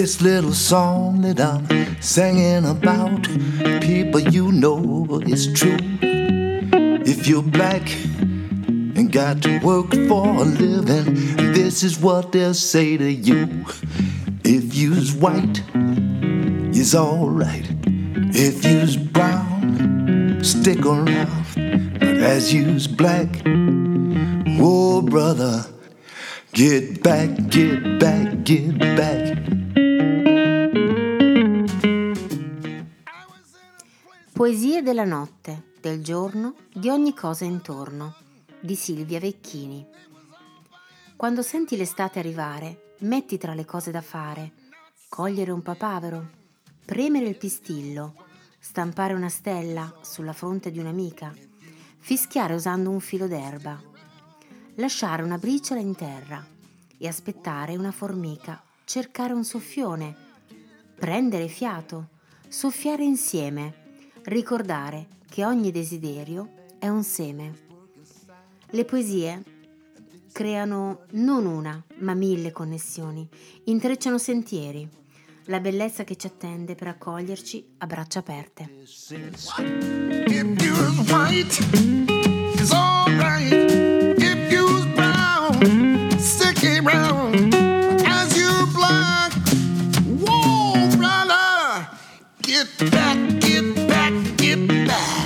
This little song that I'm singing about, people, you know it's true. If you're black and got to work for a living, this is what they'll say to you. If you's white, you's alright. If you's brown, stick around. But as you's black, oh brother, get back, get back, get back. Poesie della notte, del giorno, di ogni cosa intorno, di Silvia Vecchini. Quando senti l'estate arrivare, metti tra le cose da fare, cogliere un papavero, premere il pistillo, stampare una stella sulla fronte di un'amica, fischiare usando un filo d'erba, lasciare una briciola in terra e aspettare una formica, cercare un soffione, prendere fiato, soffiare insieme, ricordare che ogni desiderio è un seme. Le poesie creano non una, ma 1000 connessioni, intrecciano sentieri, la bellezza che ci attende per accoglierci a braccia aperte. If you's white, it's alright. If you's brown, stick around. As you black, whoa, brother, get back, get back, get back.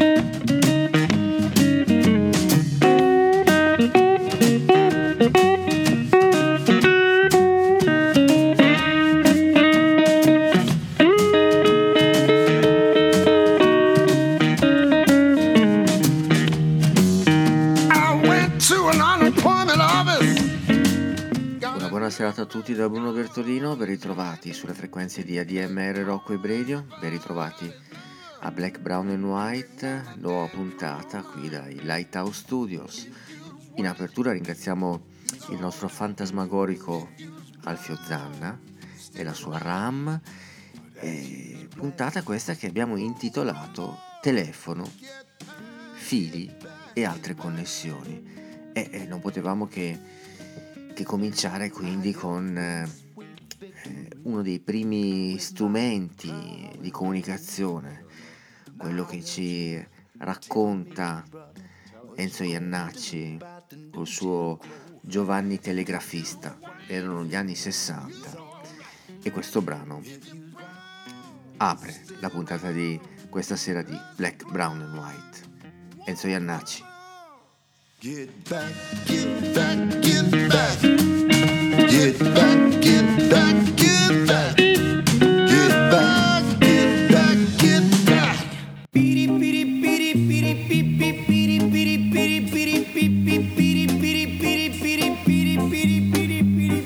Buona serata a tutti da Bruno Bertolino, ben ritrovati sulle frequenze di ADMR Rock Web Radio, ben ritrovati a Black, Brown and White, nuova puntata qui dai Lighthouse Studios. In apertura ringraziamo il nostro fantasmagorico Alfio Zanna e la sua RAM, puntata questa che abbiamo intitolato Telefono, fili e altre connessioni, e non potevamo che cominciare quindi con uno dei primi strumenti di comunicazione, quello che ci racconta Enzo Iannacci col suo Giovanni Telegrafista. Erano gli anni 60 e questo brano apre la puntata di questa sera di Black, Brown and White. Enzo Iannacci. Get back, get back, get back. Get back, get back, get back. Get back, get back, get back. Piri piri piri piri piri piri piri piri piri piri piri piri piri piri piri piri piri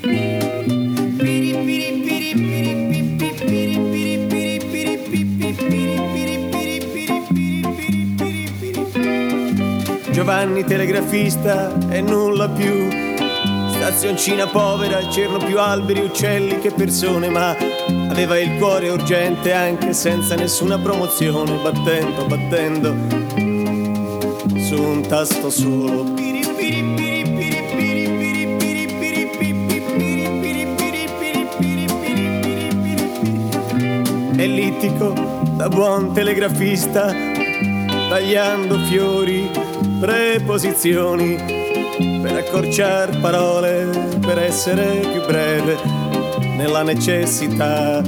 Giovanni Telegrafista e nulla più, stazioncina povera, c'erano più alberi, uccelli che persone, ma aveva il cuore urgente anche senza nessuna promozione, battendo su un tasto solo. Ellittico da buon telegrafista, tagliando fiori, preposizioni, per accorciar parole, per essere più breve, nella necessità.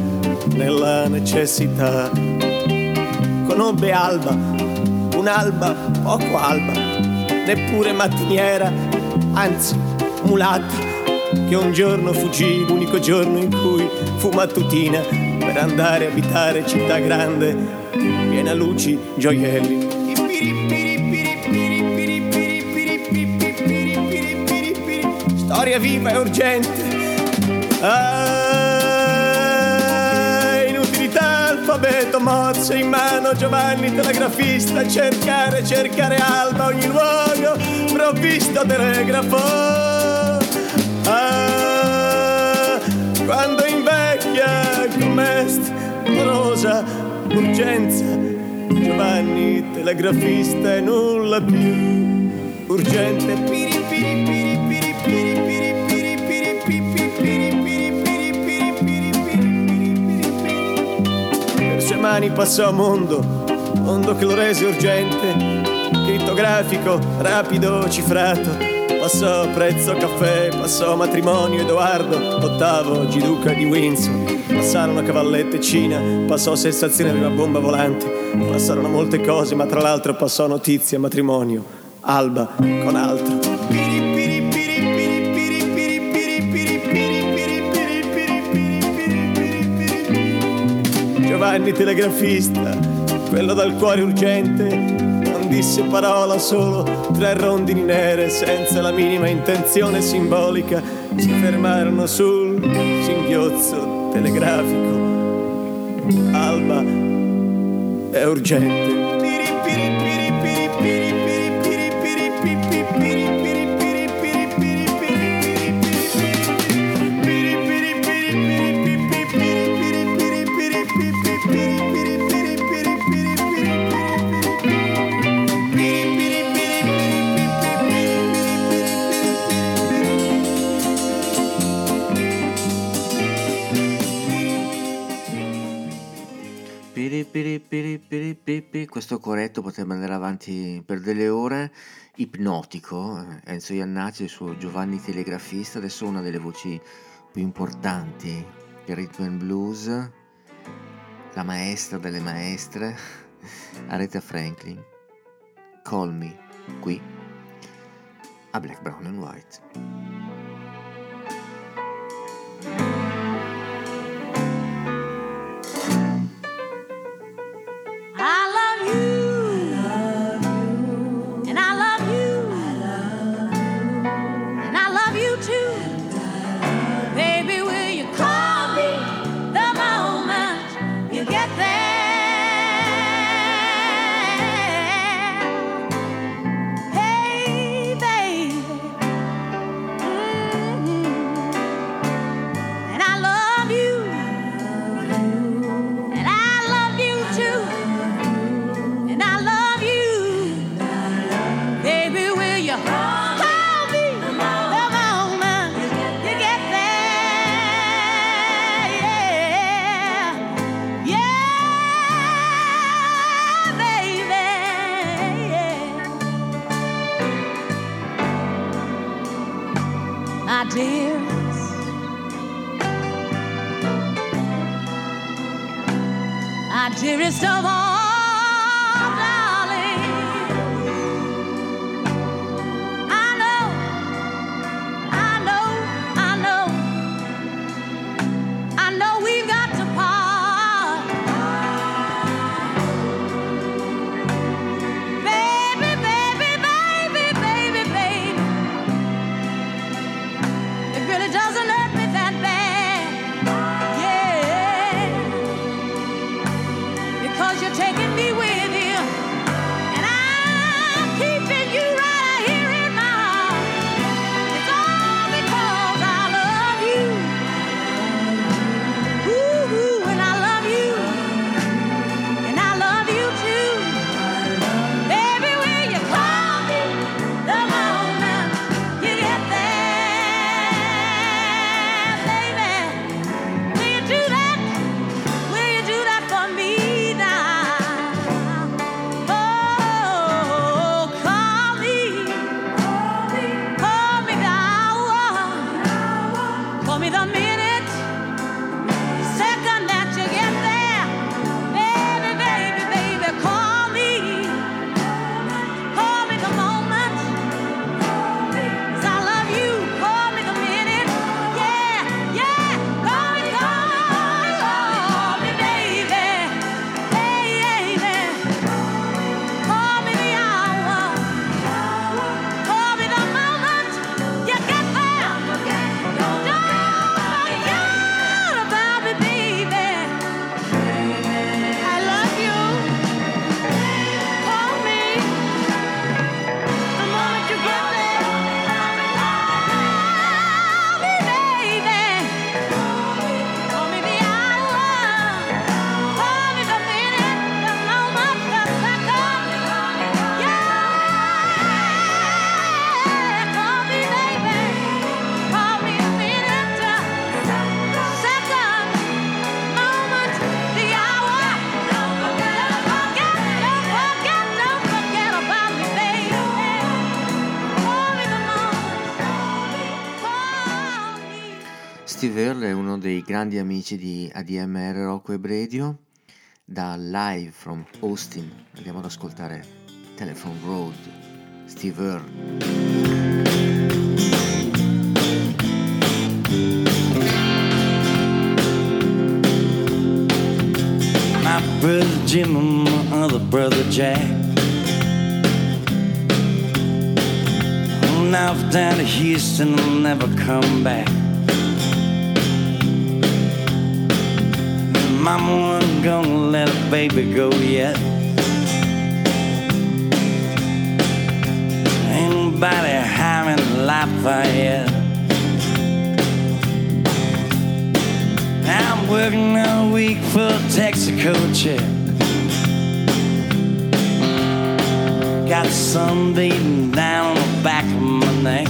Conobbe Alba, un'alba poco alba, neppure mattiniera, anzi mulatta, che un giorno fuggì, l'unico giorno in cui fu mattutina, per andare a abitare città grande, piena luci, gioielli. Storia viva e urgente. Inutilità, alfabeto, Morse in mano, Giovanni Telegrafista, cercare Alba, ogni luogo provvisto telegrafo. Quando invecchia com'est rosa urgenza, Giovanni Telegrafista e nulla più urgente. Piri piri piri piri piri piri piri piri piri piri piri piri piri piri. domani passò a mondo che lo rese urgente, crittografico, rapido, cifrato. Passò prezzo caffè, passò matrimonio Edoardo VIII, Giduca di Windsor. Passarono cavallette Cina, passò sensazione di una bomba volante. Passarono molte cose, ma tra l'altro passò notizia, matrimonio, Alba con altro. Giovanni telegrafista, quello dal cuore urgente, non disse parola, solo 3 rondini nere senza la minima intenzione simbolica si fermarono sul singhiozzo telegrafico. Alba è urgente. Questo corretto potrebbe andare avanti per delle ore. Ipnotico, Enzo Jannacci e il suo Giovanni telegrafista. Adesso una delle voci più importanti del rhythm and blues, la maestra delle maestre, Aretha Franklin, Call Me, qui a Black, Brown and White. Dearest of all, darling, I know we've got to part. Baby, it really doesn't hurt me that bad. Yeah, 'cause you take Steve Earle è uno dei grandi amici di ADMR Rock Web Radio. Da Live from Austin andiamo ad ascoltare Telephone Road, Steve Earle. My brother Jim and my other brother Jack went off down to Houston and never come back. Mama wasn't gonna let a baby go yet. Ain't nobody having Lafayette. I'm working all week for a Texaco check. Got the sun beating down on the back of my neck.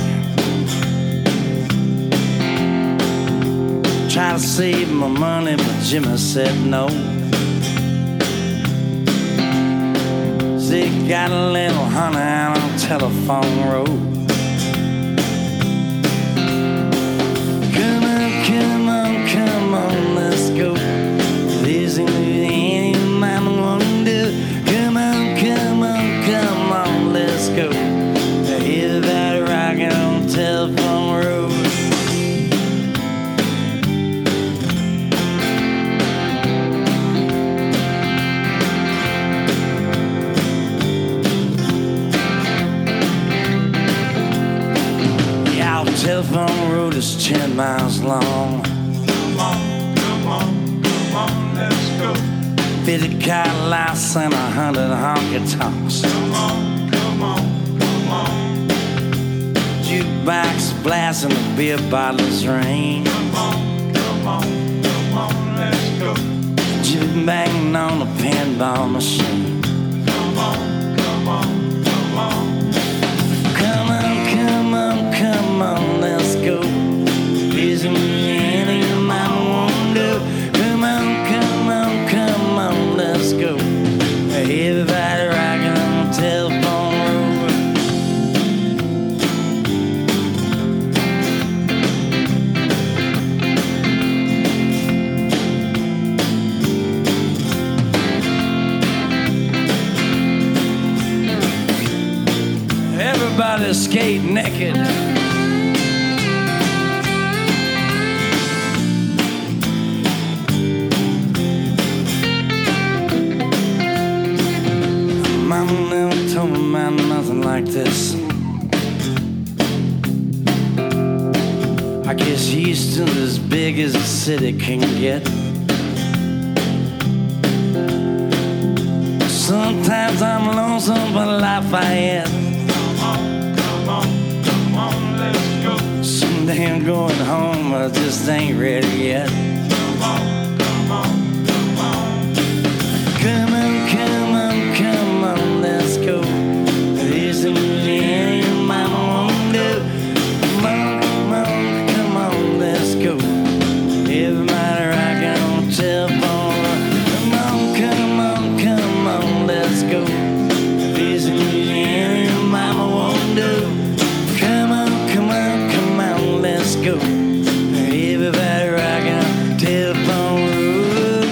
Try to save my money, but Jimmy said no. They got a little honey out on Telephone Road. Come on, let's go. This ain't anything mama wanna do. Come on, let's go. Everybody rocking on Telephone Road. Yeah, Telephone Road is 10 miles long. Come on, let's go. 50 Cadillacs and 100 honky-tonks. Come on. Jukebox blasting, the beer bottles ring. Come on, let's go. Juke banging on the pinball machine. Come on. Come on, let's go. Isn't anything mama won't do? Come on, let's go. Everybody rocking on Telephone Road. Everybody skate naked. Mama never told me about nothing like this. I guess Houston's as big as a city can get. Sometimes I'm lonesome for Lafayette. Come on, let's go. Someday I'm going home, I just ain't ready yet. Come on. Come on, let's go. There's anything mama won't do. Come on, let's go. Everybody rocking on Telephone. Come on, let's go. There's anything mama won't do. Come on, let's go. Everybody rocking on Telephone Road.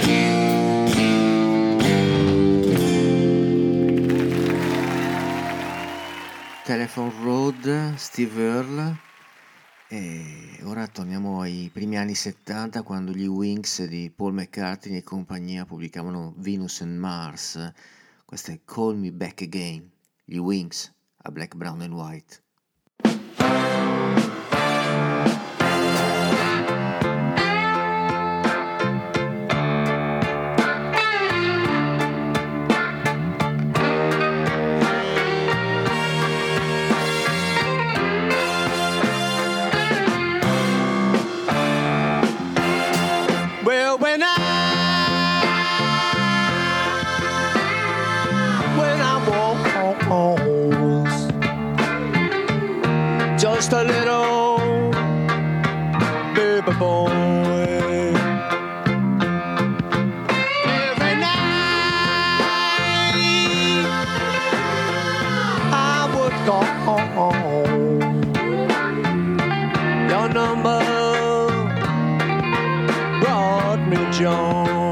Telephone Road, Steve Earle. E ora torniamo ai primi anni 70, quando gli Wings di Paul McCartney e compagnia pubblicavano Venus and Mars. Questa è Call Me Back Again, gli Wings a Black, Brown and White. Just a little baby boy. Every night I would call your number John.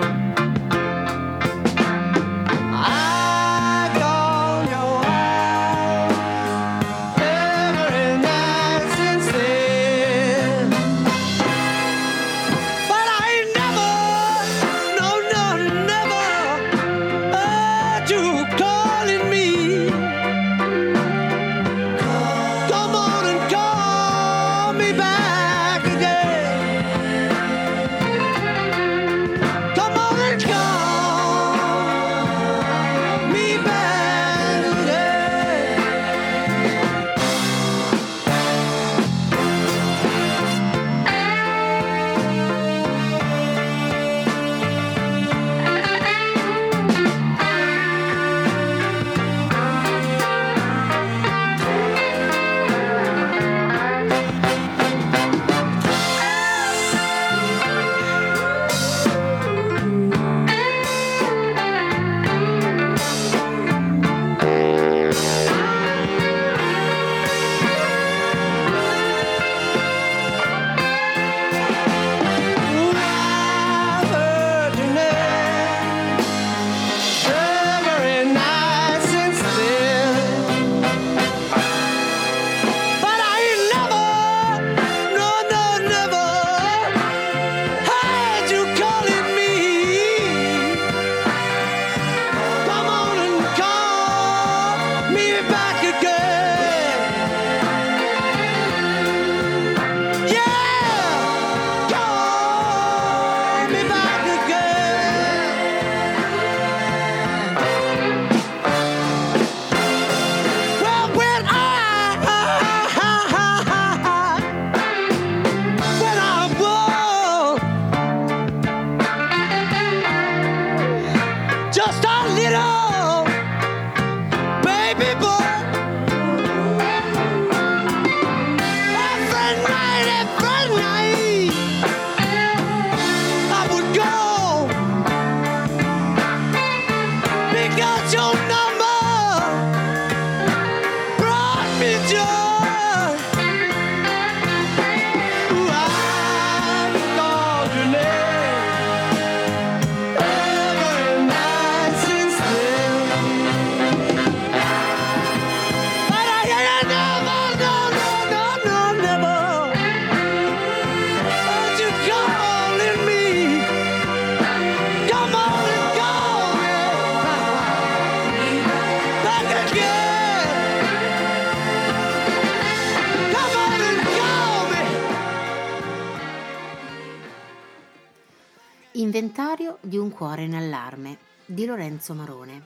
Inventario di un cuore in allarme di Lorenzo Marone.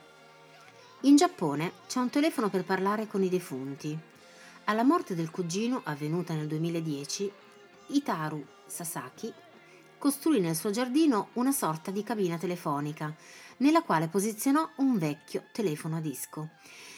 In Giappone c'è un telefono per parlare con i defunti. Alla morte del cugino, avvenuta nel 2010, Hitaru Sasaki costruì nel suo giardino una sorta di cabina telefonica nella quale posizionò un vecchio telefono a disco.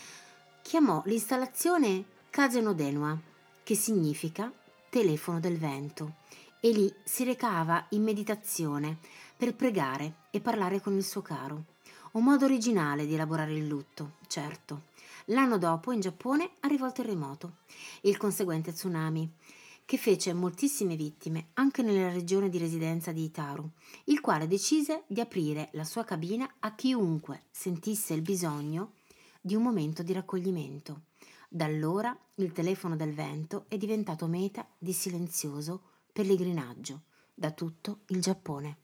Chiamò l'installazione Kaze no Denwa, che significa telefono del vento, e lì si recava in meditazione per pregare e parlare con il suo caro. Un modo originale di elaborare il lutto, certo. L'anno dopo in Giappone arrivò il terremoto e il conseguente tsunami, che fece moltissime vittime anche nella regione di residenza di Hitaru, il quale decise di aprire la sua cabina a chiunque sentisse il bisogno di un momento di raccoglimento. Da allora il telefono del vento è diventato meta di silenzioso pellegrinaggio da tutto il Giappone.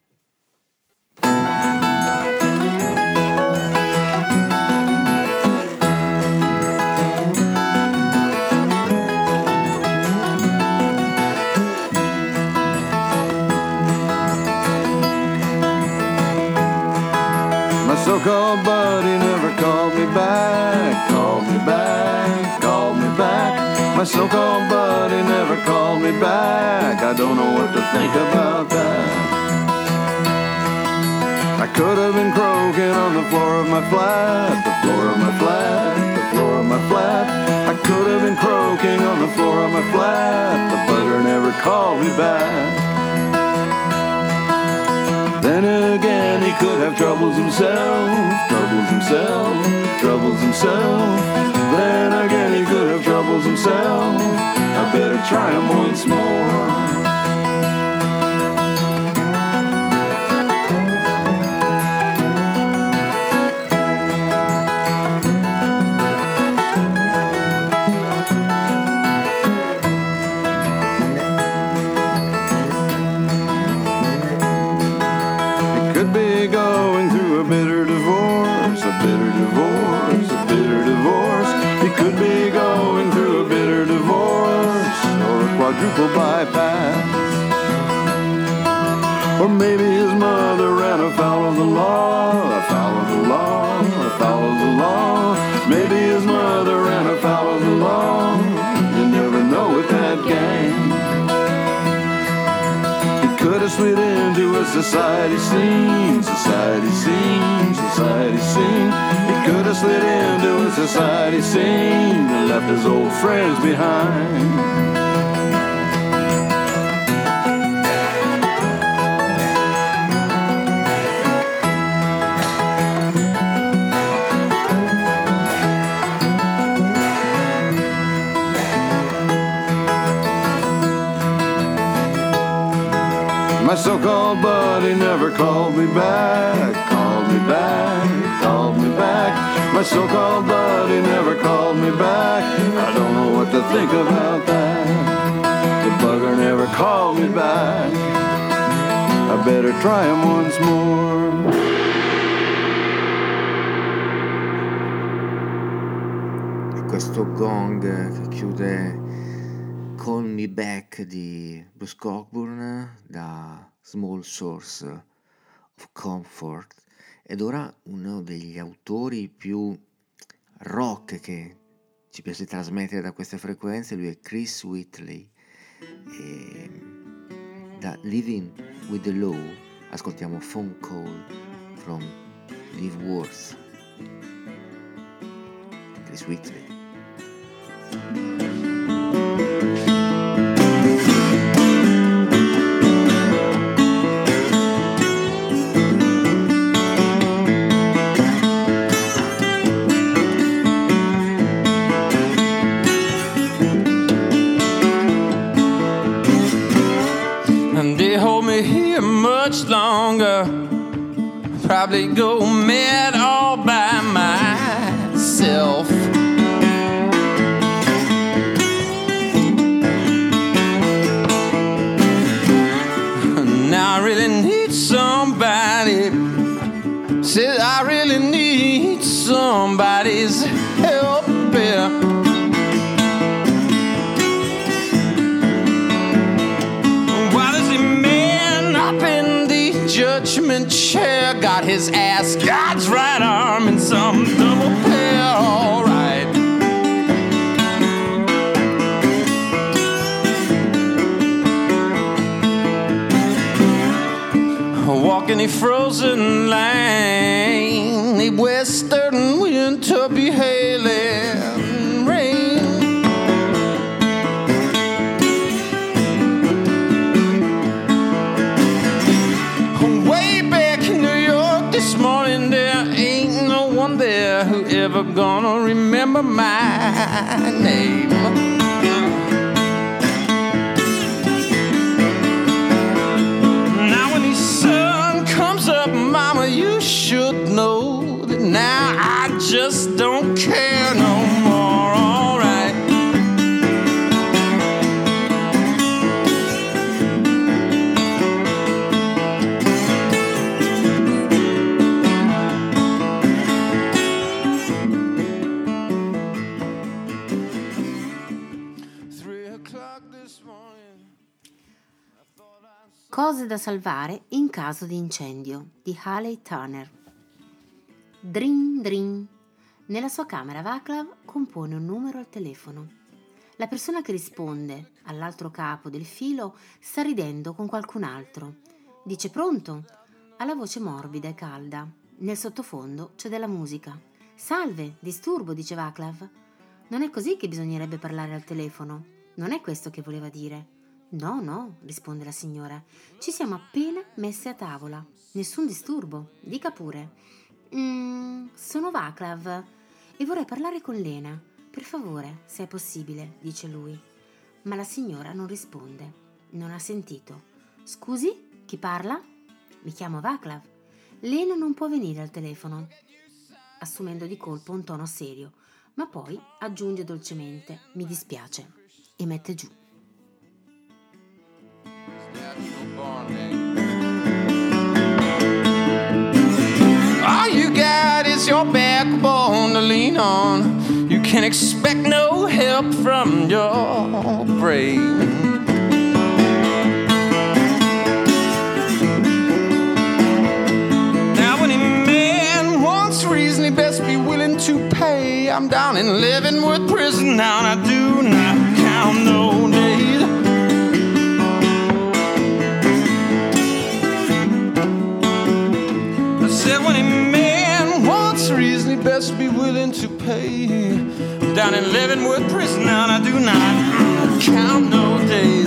My so-called buddy never called me back, called me back, called me back. My so-called buddy never called me back. I don't know what to think about that. I could have been croaking on the floor of my flat, the floor of my flat, the floor of my flat. I could have been croaking on the floor of my flat. The bugger never called me back. Then again, he could have troubles himself, troubles himself, troubles himself. Then again, he could have troubles himself. I better try him once more. quadruple bypass. Or maybe his mother ran afoul of the law, afoul of the law, afoul of the law. Maybe his mother ran afoul of the law. You never know with that gang. He could have slid into a society scene, society scene, society scene. He could have slid into a society scene and left his old friends behind. My so-called buddy never called me back, called me back, called me back. My so-called buddy never called me back. I don't know what to think about that. The bugger never called me back. I better try him once more. E questo gong che chiude Call Me Back di Bruce Cockburn da Small Source of Comfort. Ed ora uno degli autori più rock che ci piace trasmettere da queste frequenze, lui è Chris Whitley, e da Living with the Law ascoltiamo Phone Call from Live Worth. Chris Whitley. Much longer, probably go mad all by myself. Now I really need somebody. Said I really need somebody's help here. Judgment chair got his ass, God's right arm in some double pair, all right. Walking a frozen line, a western winter be hailing rain. This morning there ain't no one there who ever gonna remember my name. Now when the sun comes up, mama, you should know that now I just don't care no more, all right. Cose da salvare in caso di incendio di Haley Turner. Drin drin. Nella sua camera Vaclav compone un numero al telefono. La persona che risponde, all'altro capo del filo, sta ridendo con qualcun altro. Dice pronto? Ha la voce morbida e calda. Nel sottofondo c'è della musica. Salve, disturbo, dice Vaclav. Non è così che bisognerebbe parlare al telefono. Non è questo che voleva dire. No, no, risponde la signora. Ci siamo appena messe a tavola. Nessun disturbo, dica pure. Sono Vaclav e vorrei parlare con Lena. Per favore, se è possibile, dice lui. Ma la signora non risponde. Non ha sentito. Scusi, chi parla? Mi chiamo Vaclav. Lena non può venire al telefono. Assumendo di colpo un tono serio, ma poi aggiunge dolcemente: mi dispiace, e mette giù. All you got is your backbone to lean on. You can expect no help from your brain. what's reasonably best be willing to pay. I'm down in Leavenworth prison now, and I do not count no days. I said when a man wants reasonably best be willing to pay. I'm down in Leavenworth prison now, and I do not count no days.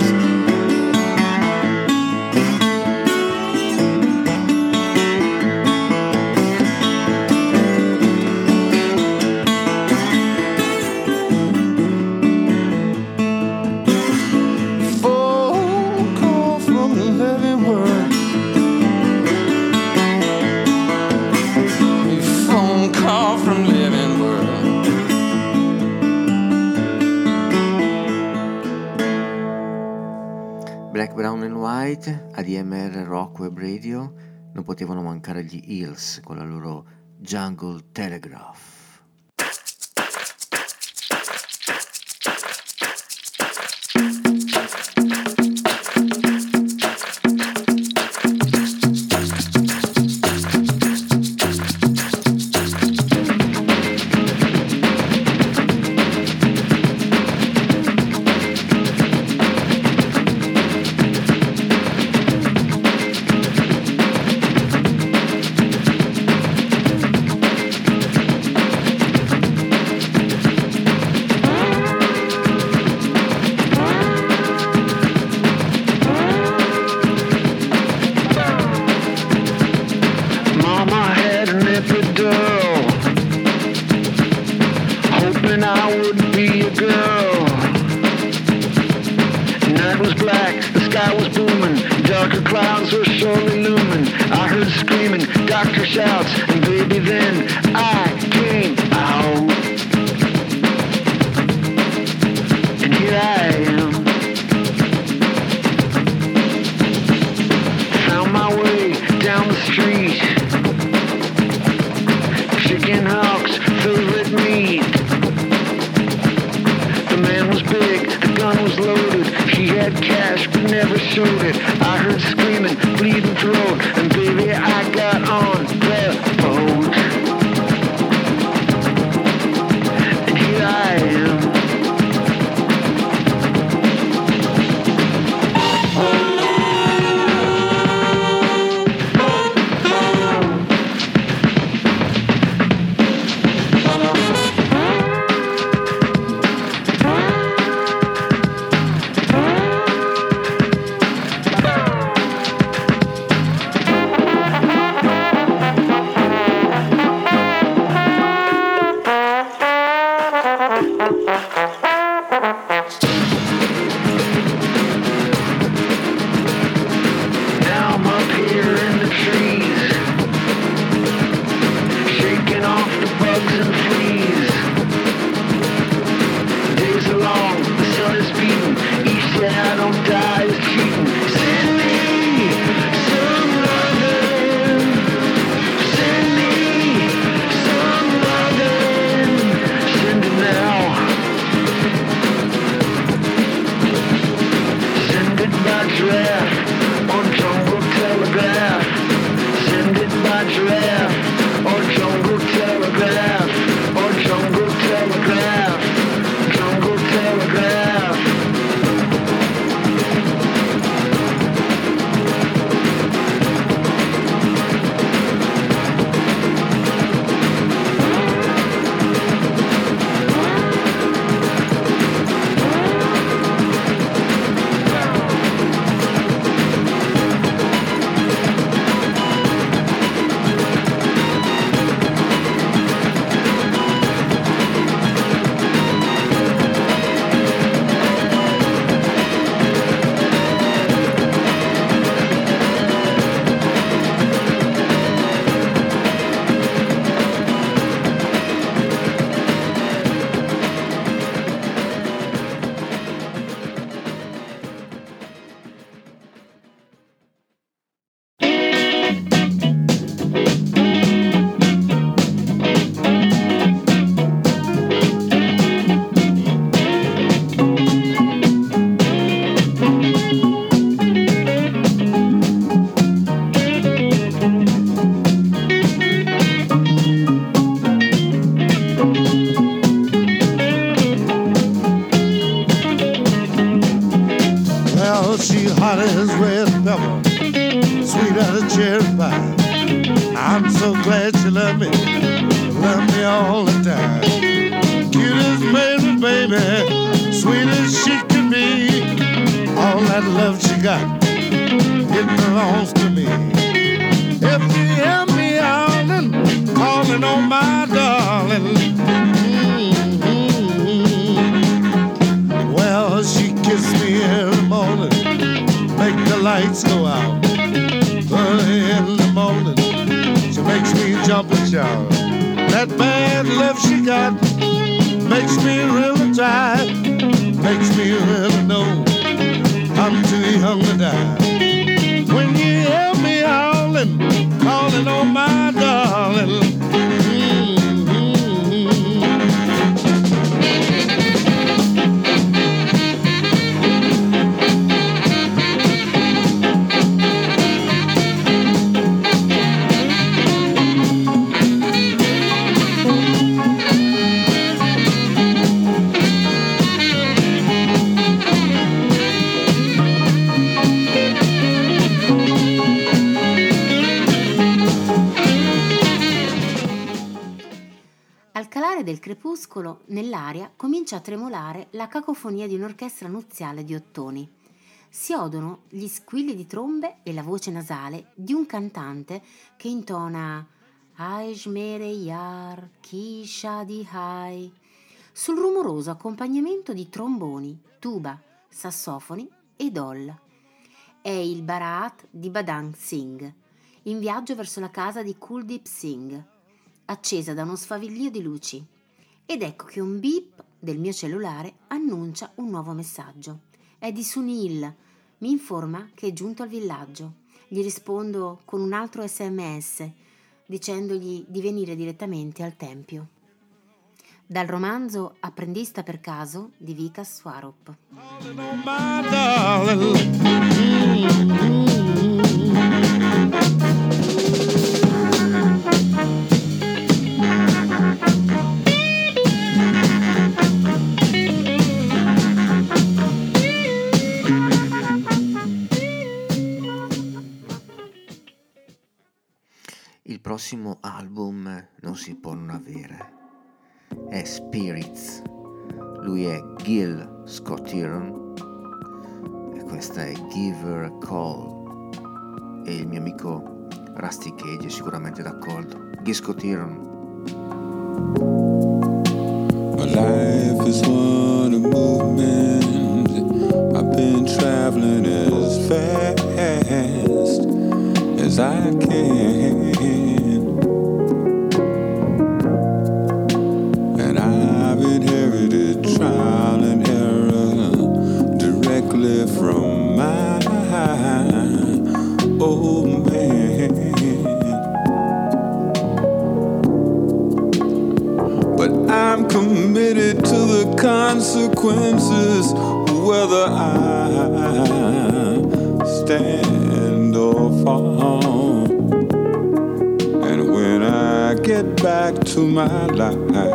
Black, Brown and White, ADMR Rock Web Radio, non potevano mancare gli Hills con la loro Jungle Telegraph. as a cherry pie. I'm so glad you love me all the time. Cutest baby, sweet as she can be. All that love she got, it belongs to me. If you hear me howling, calling on my darling, well, she kissed me every morning, make the lights go out. Early in the morning, she makes me jump and shout. That bad love she got makes me really try, makes me really know I'm too young to die. When you hear me howling, calling on my darling, del crepuscolo, nell'aria comincia a tremolare la cacofonia di un'orchestra nuziale di ottoni. Si odono gli squilli di trombe e la voce nasale di un cantante che intona Aishmere Yar Kisha di Hai sul rumoroso accompagnamento di tromboni, tuba, sassofoni e dol. È il Bharat di Badang Singh, in viaggio verso la casa di Kuldeep Singh, accesa da uno sfavillio di luci. Ed ecco che un beep del mio cellulare annuncia un nuovo messaggio. È di Sunil, mi informa che è giunto al villaggio. Gli rispondo con un altro SMS, dicendogli di venire direttamente al tempio. Dal romanzo Apprendista per caso di Vikas Swarup. Il prossimo album non si può non avere. È Spirits. Lui è Gil Scott-Heron e questa è Give Her a Call. E il mio amico Rusty Cage è sicuramente d'accordo. Gil Scott-Heron. My life is one of movement. I've been traveling as fast as I can. And I've inherited trial and error directly from my old man. But I'm committed to the consequences, whether I stand or fall. And when I get back to my life,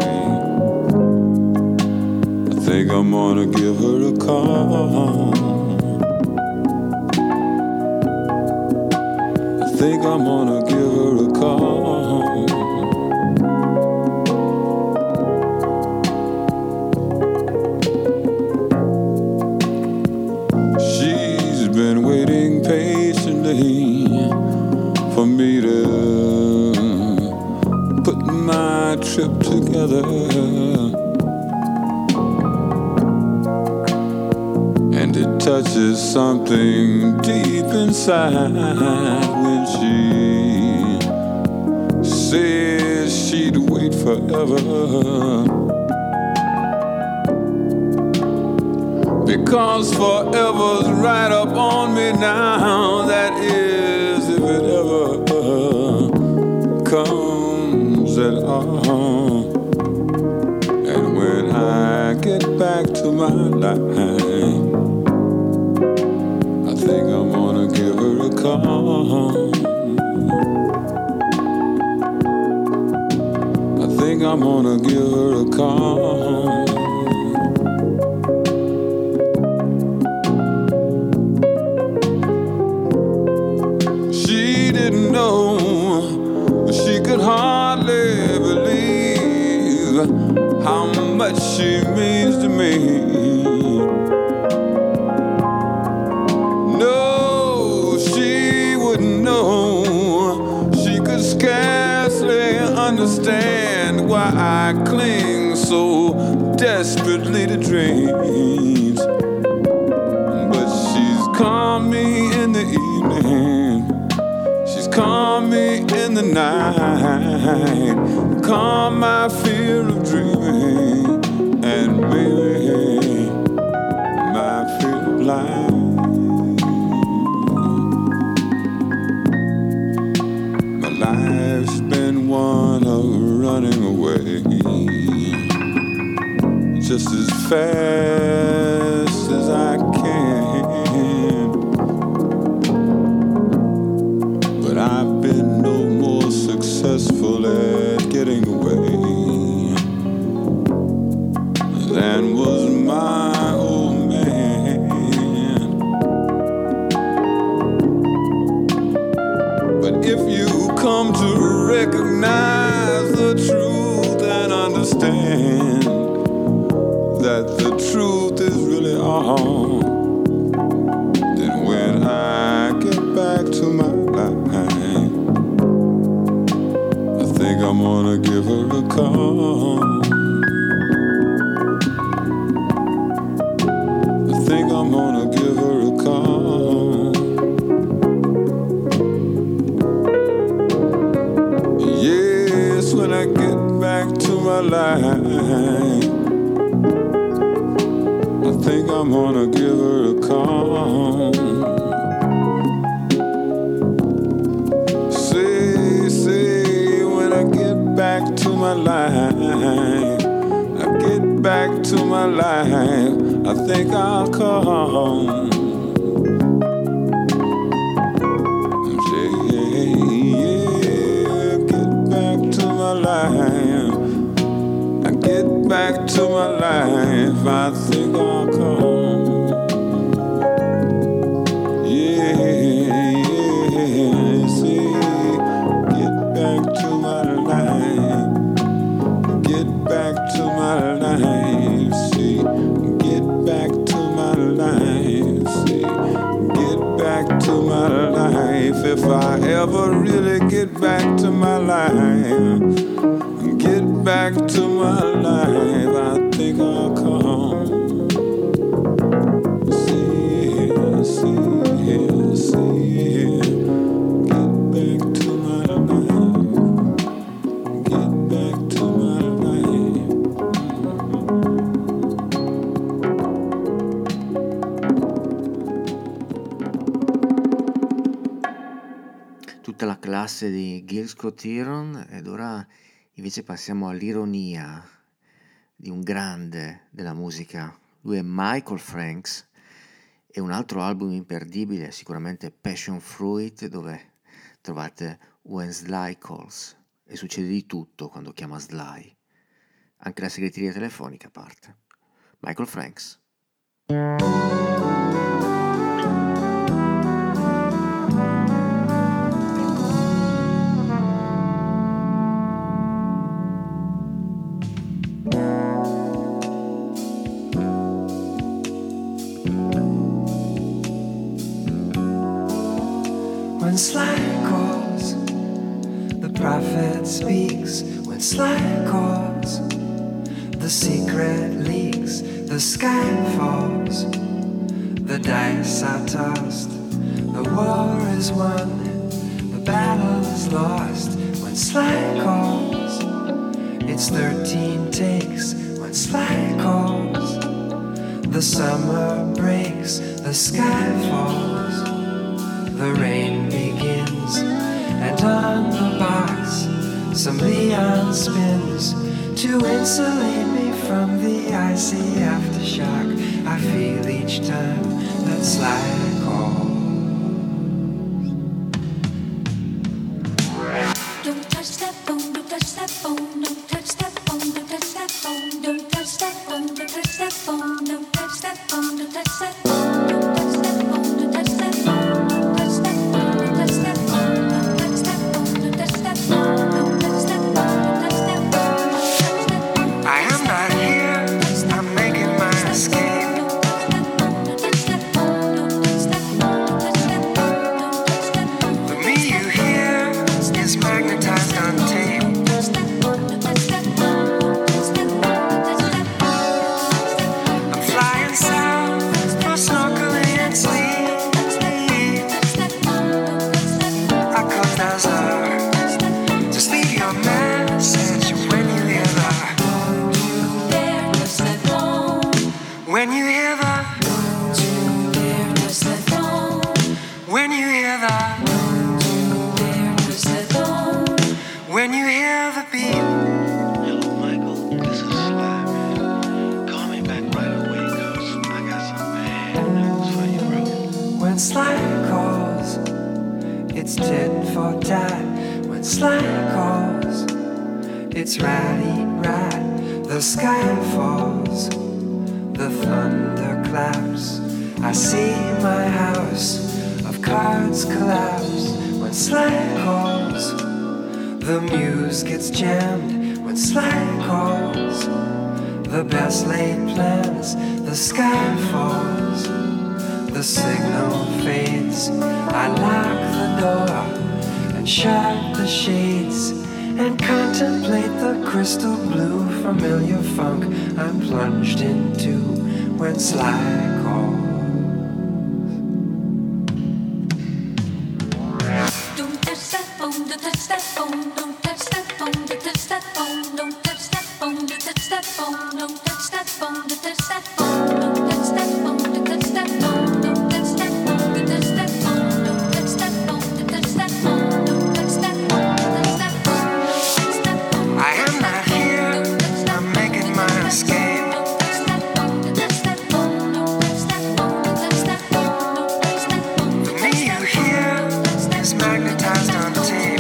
I think I'm gonna give her a call. I think I'm gonna give her a call. She's been waiting patiently for me to put my trip together. And it touches something deep inside when she says she'd wait forever. Because forever's right up on me now. That is, if it ever comes at all. And when I get back to my life, I think I'm gonna give her a call. I think I'm gonna give her a call. She know, she could hardly believe how much she means to me. No, she wouldn't know. She could scarcely understand why I cling so desperately to dreams. But she's called me in the evening, she's called me in the night, calm my fear of dreaming, and maybe my fear of life. My life's been one of running away, just as fast as I can. But I've been no more successful at getting away than was my old man. But if you come to recognize the truth and understand that the truth is really all, then when I get back to my life, I think I'm gonna give her a call. I think I'm gonna give her a call. Yes, when I get back to my life, I think I'm gonna give her a call. Say, when I get back to my life, I get back to my life, I think I'll call. Say, yeah, get back to my life, I get back to my life, I think I'll come. Yeah, see, get back to my life, get back to my life, see, get back to my life, see, get back to my life. If I ever really get back to my life, get back to my life, I think I'll come. See, get back to my life, get back to my life. Tutta la classe di Gil Scott-Heron, ed ora invece passiamo all'ironia di un grande della musica. Lui è Michael Franks, e un altro album imperdibile è sicuramente Passion Fruit, dove trovate When Sly Calls, e succede di tutto quando chiama Sly, anche la segreteria telefonica parte. Michael Franks. When Sly calls, the prophet speaks. When Sly calls, the secret leaks. The sky falls, the dice are tossed. The war is won, the battle is lost. When Sly calls, it's 13 takes. When Sly calls, the summer breaks, the sky falls, the rain begins, and on the box some Leon spins to insulate me from the icy aftershock I feel each time that Sly calls. Don't touch that phone, don't touch that phone, don't touch that phone, don't touch that phone, don't touch that phone, don't touch that phone, don't touch that phone, don't touch that phone, don't touch that phone, don't touch that phone, don't touch that phone, don't touch that phone, don't touch that phone, don't touch that When you hear the Where does that phone? when you hear the Where does that phone? when you hear the beat. Hello, Michael. This is Sly, man. Call me back right away, cause I got some bad news for you, bro. When Sly calls, it's tit for tat. When Sly calls, it's right. The sky falls, the thunder claps. I see my house of cards collapse. When Sly calls, the muse gets jammed. When Sly calls, the best laid plans. The sky falls, the signal fades. I lock the door and shut the shades and contemplate the crystal blue familiar funk I'm plunged into when Sly calls. Don't touch that phone, don't touch that phone, don't touch that phone, don't touch that phone, don't touch that phone, don't touch that phone, don't touch that phone, don't touch that phone, don't touch that phone, don't touch that phone, don't touch that phone, don't touch that phone, don't touch that phone, don't touch that phone, don't touch that phone, don't touch that phone. I am not here, I'm making my escape. Don't touch that phone, don't touch that phone, don't touch that phone, don't touch that phone, don't touch that phone. For me, you hear is magnetized on tape.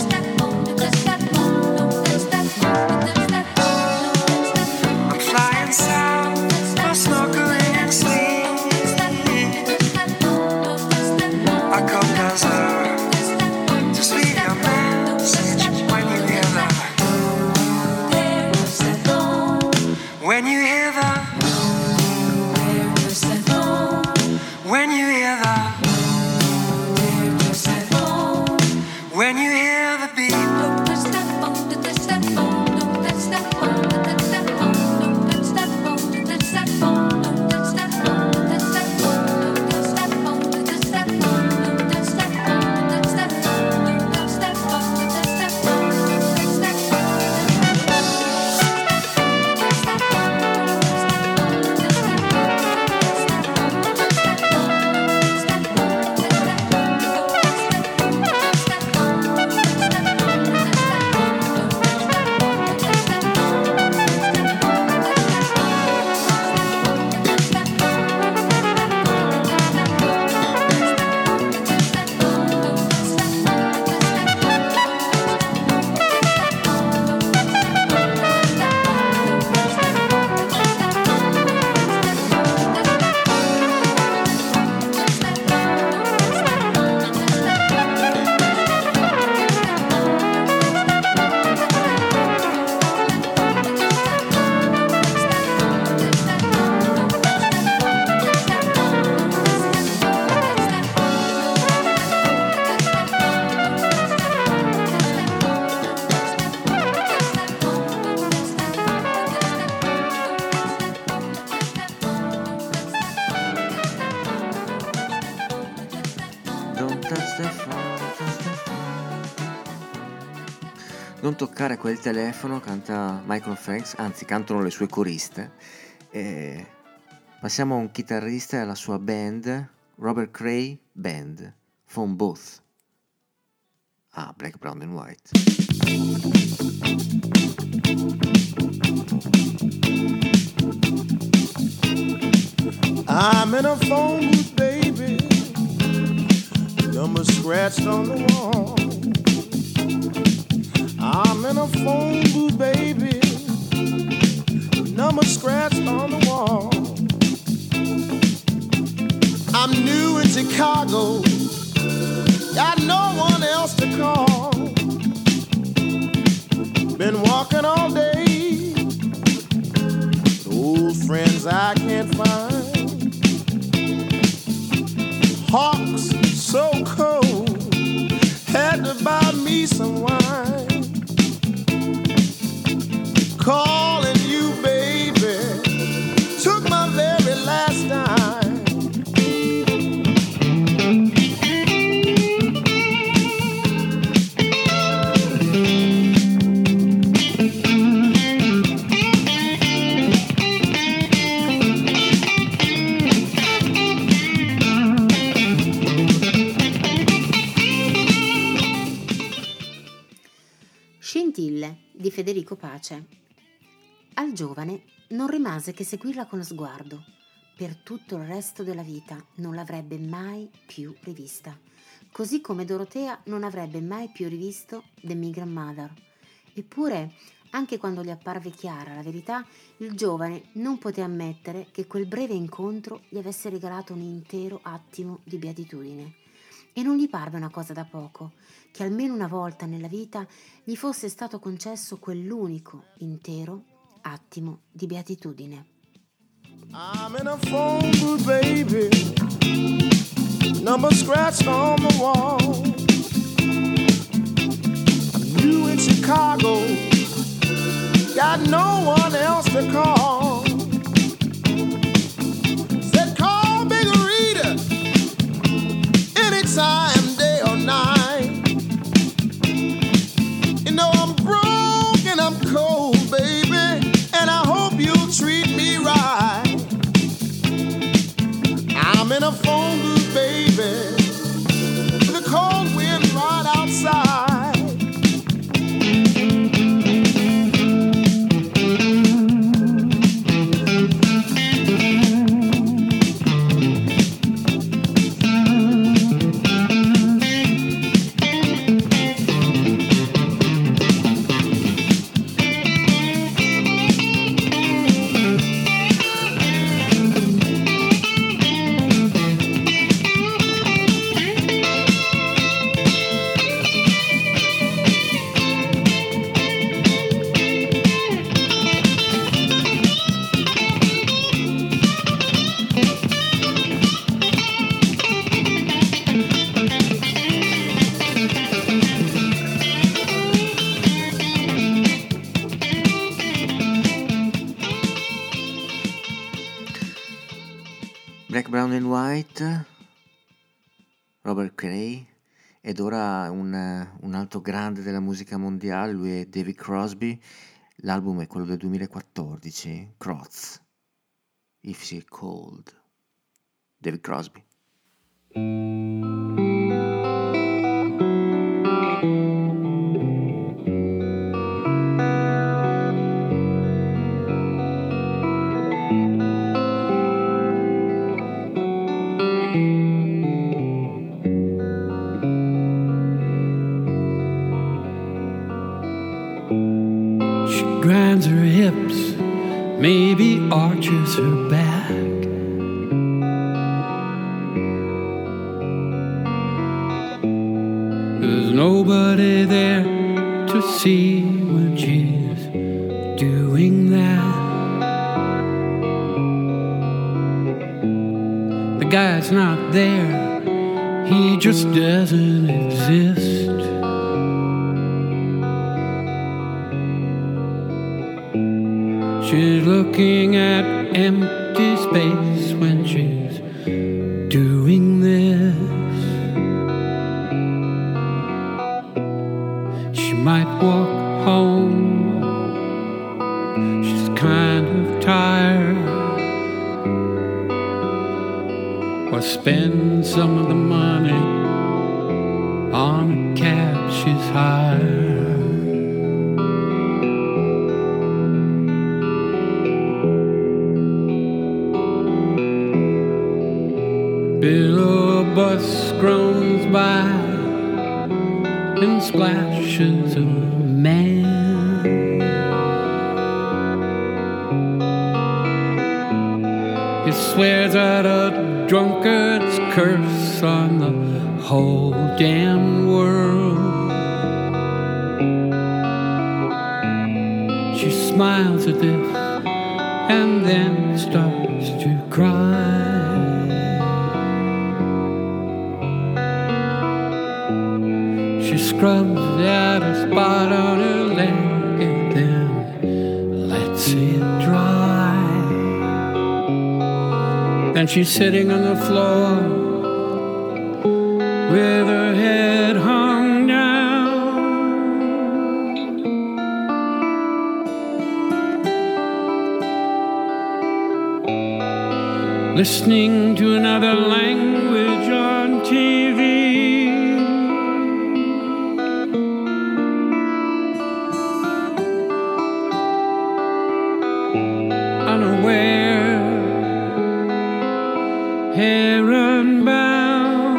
I'm flying south, I'm snorkeling and sleep. I come down south, just leave your message when you hear the when you hear the when you hear the when you hear the beat. Non toccare quel telefono, canta Michael Franks, anzi cantano le sue coriste. E passiamo a un chitarrista e alla sua band, Robert Cray Band, Phone Booth. Black, Brown and White. I'm in a phone booth, baby. Number scratched on the wall. I'm in a phone booth, baby. Number scratched on the wall. I'm new in Chicago. Got no one else to call. Been walking all day. Old friends I can't find. Hawks so cold. Had to buy me some wine. Calling you, baby, took my very last dime. Federico Pace. Al giovane non rimase che seguirla con lo sguardo. Per tutto il resto della vita non l'avrebbe mai più rivista, così come Dorotea non avrebbe mai più rivisto The Migrant Mother. Eppure, anche quando gli apparve chiara la verità, il giovane non poté ammettere che quel breve incontro gli avesse regalato un intero attimo di beatitudine. E non gli parve una cosa da poco, che almeno una volta nella vita gli fosse stato concesso quell'unico intero attimo di beatitudine. I'm in a phone booth, baby. Number scratched on the wall. I'm new in Chicago. Got no one else to call. Said call Big Rita anytime, day or night. You know I'm broke and I'm cold, baby, and I hope you'll treat me right. I'm in a phone booth, baby, with a cold wind right outside. Black, Brown and White, Robert Cray, ed ora un altro grande della musica mondiale, lui è David Crosby. L'album è quello del 2014, Crotz, If She's Cold. David Crosby. Grinds her hips, maybe arches her back. There's nobody there to see when she's doing that. The guy's not there, he just doesn't exist. She's looking at empty space when she's doing this. She might walk home, she's kind of tired, or spend some of the money on a cab she's hired. Below a bus groans by in splashes of man. He swears out a drunkard's curse on the whole damn world. She smiles at this and then starts to cry. She scrubs out a spot on her leg and then lets it dry. Then she's sitting on the floor with her head hung down, listening to another language on TV. heron bound,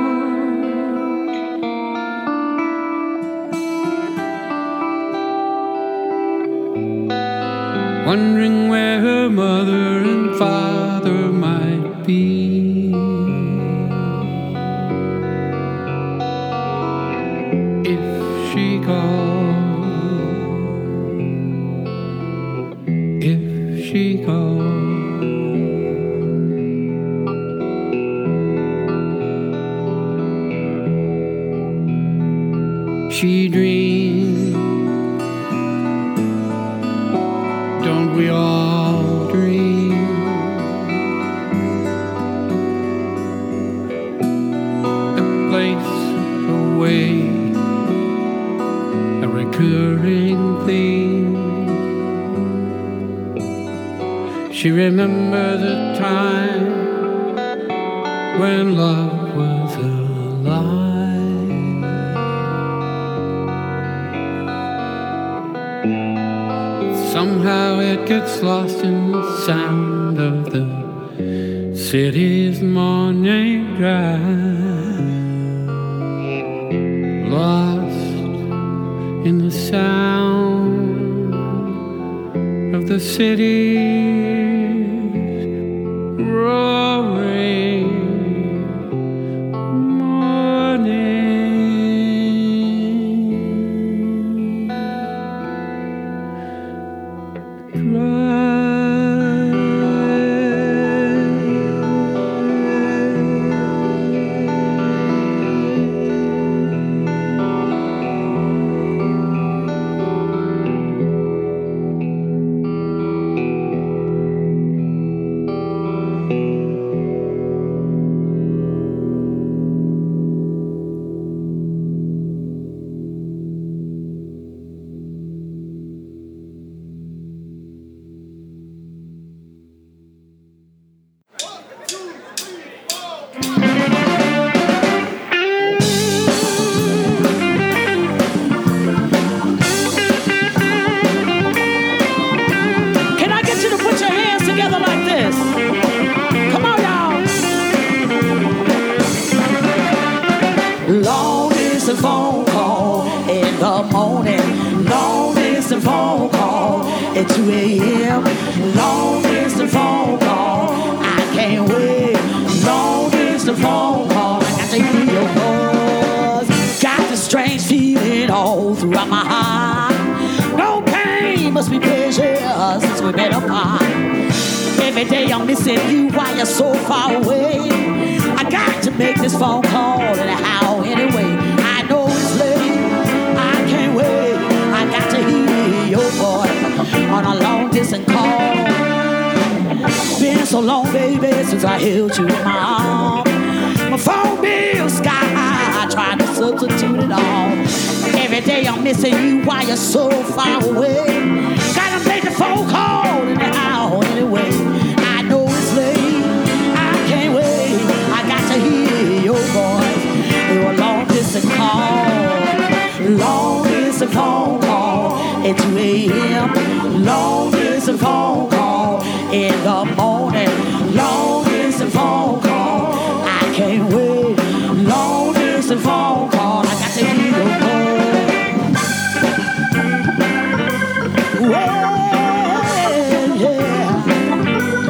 wondering where her mother and father might be. If she goes, she dreams, don't we all dream? A place, a way, a recurring theme. She remembers a time when love was alive. Somehow it gets lost in the sound of the city's morning drive. Lost in the sound of the city's roaring morning. At 2 a.m. Long distance phone call. I can't wait. Long distance phone call. I got to hear your voice. Got this strange feeling all throughout my heart. No pain, must be pleasure since we've been apart. Every day I'm missing you while you're so far away. I got to make this phone call anyhow, anyway. I know it's late. I can't wait. I got to hear your voice on a long distance call. Been so long, baby, since I held you in my arms. My phone bill sky high, trying to substitute it all. Every day I'm missing you while you're so far away. Gotta make the phone call anyhow, anyway. I know it's late, I can't wait. I got to hear your voice through a long distance call. Long distance phone call at 2 a.m. Long distance phone call in the morning. Long distance phone call. I can't wait. Long distance phone call. I got to hear your voice. Well, yeah.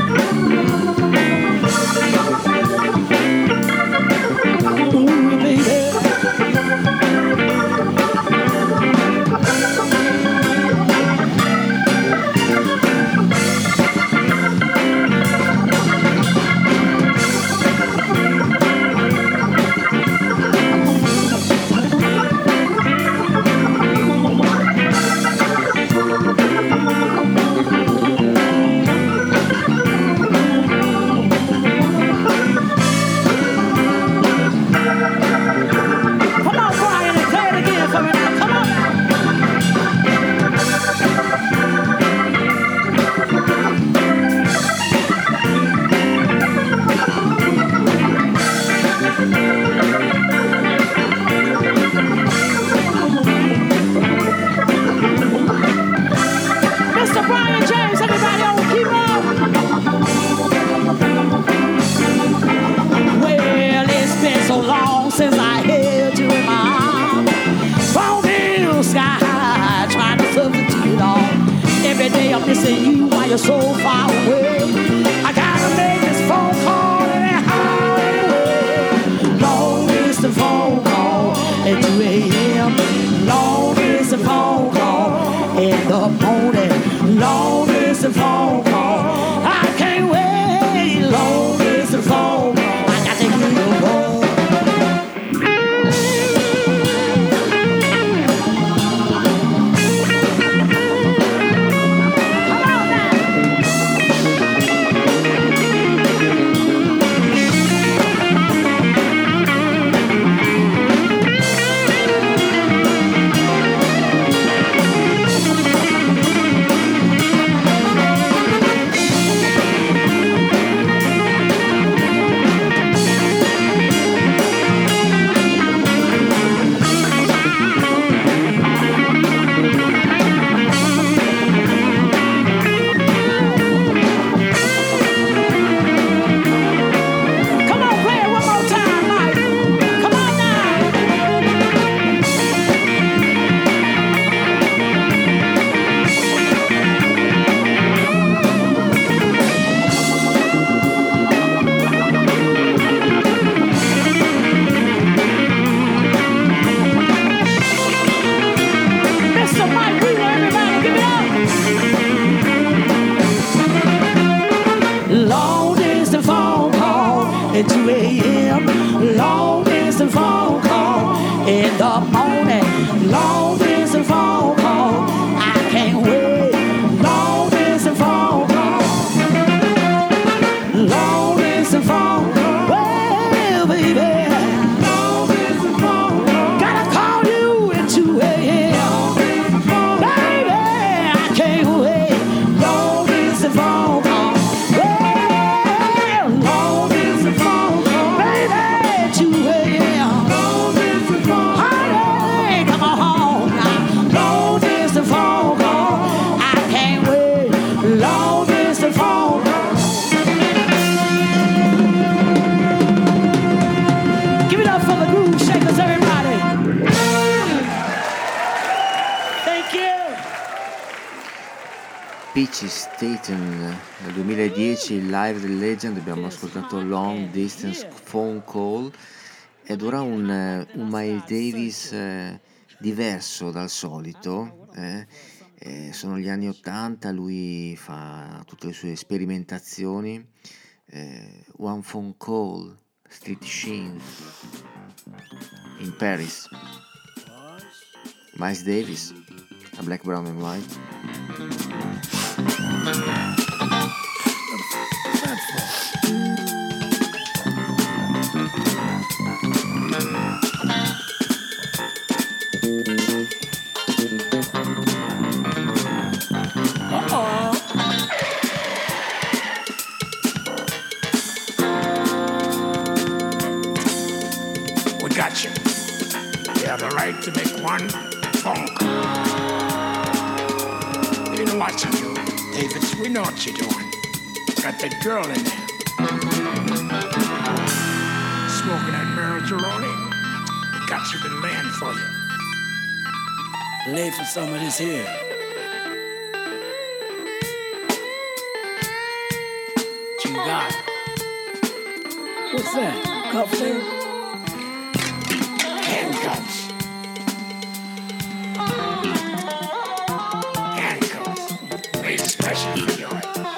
you're so far away. I gotta make this phone call anyhow, anyway. Long distance phone call at 2 a.m. Long distance phone call in the morning. Long distance phone call. I can't wait. Long distance phone call. I got to give you a call. Long distance phone call at 2 a.m. Long distance phone call in the morning. Long distance phone call. I can't wait. Long distance phone call. Long distance phone call. Well, baby. Long distance phone call. Gotta call you at 2 a.m. Baby, I can't wait. Long distance phone call. Peachy Staten nel 2010, il live del Legend, abbiamo ascoltato Long Distance Phone Call ed ora un Miles Davis diverso dal solito. Sono gli anni 80, lui fa tutte le sue sperimentazioni. One Phone Call, Street Scene in Paris. Miles Davis, a Black, Brown and White. We got you. You have the right to make one phone call. You know what you're doing, Davis. We know what you're doing. Got that girl in there. Smoking that marijuana. We got you been laying for you. Lay for some of this here. What you got? What's that? Cufflink? Handcuffs. Made special for you.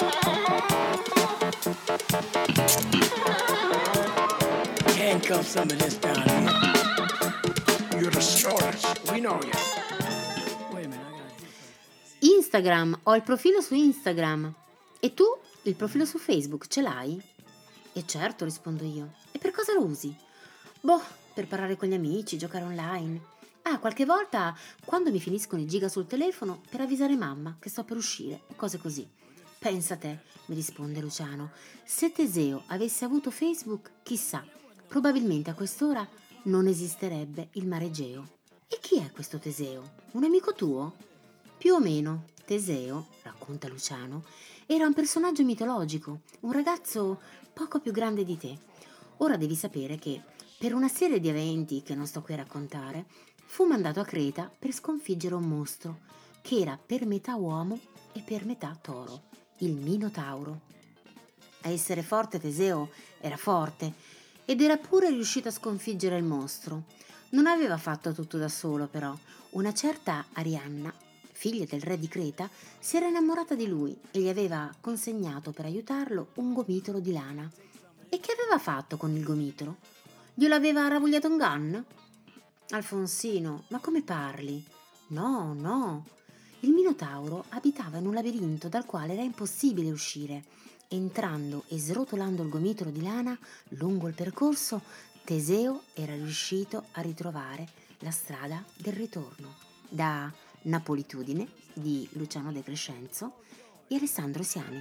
Handcuff some of this down here. You're the shortest. We know you. Wait a minute, I gotta... Instagram, ho il profilo su Instagram. E tu? Il profilo su Facebook ce l'hai? E certo, rispondo io. E per cosa lo usi? Boh, per parlare con gli amici, giocare online. Ah, qualche volta, quando mi finiscono i giga sul telefono, per avvisare mamma che sto per uscire e cose così. Pensa te, mi risponde Luciano, se Teseo avesse avuto Facebook, chissà, probabilmente a quest'ora non esisterebbe il mare Egeo. E chi è questo Teseo? Un amico tuo? Più o meno, Teseo, racconta Luciano, era un personaggio mitologico, un ragazzo poco più grande di te. Ora devi sapere che, per una serie di eventi che non sto qui a raccontare, fu mandato a Creta per sconfiggere un mostro che era per metà uomo e per metà toro. il Minotauro. A essere forte Teseo era forte ed era pure riuscito a sconfiggere il mostro. Non aveva fatto tutto da solo, però. Una certa Arianna, figlia del re di Creta, si era innamorata di lui e gli aveva consegnato per aiutarlo un gomitolo di lana. E che aveva fatto con il gomitolo? Glielo aveva ravogliato un gun? Alfonsino, ma come parli? No. Il Minotauro abitava in un labirinto dal quale era impossibile uscire. Entrando e srotolando il gomitolo di lana lungo il percorso, Teseo era riuscito a ritrovare la strada del ritorno. Da Napolitudine di Luciano De Crescenzo e Alessandro Siani.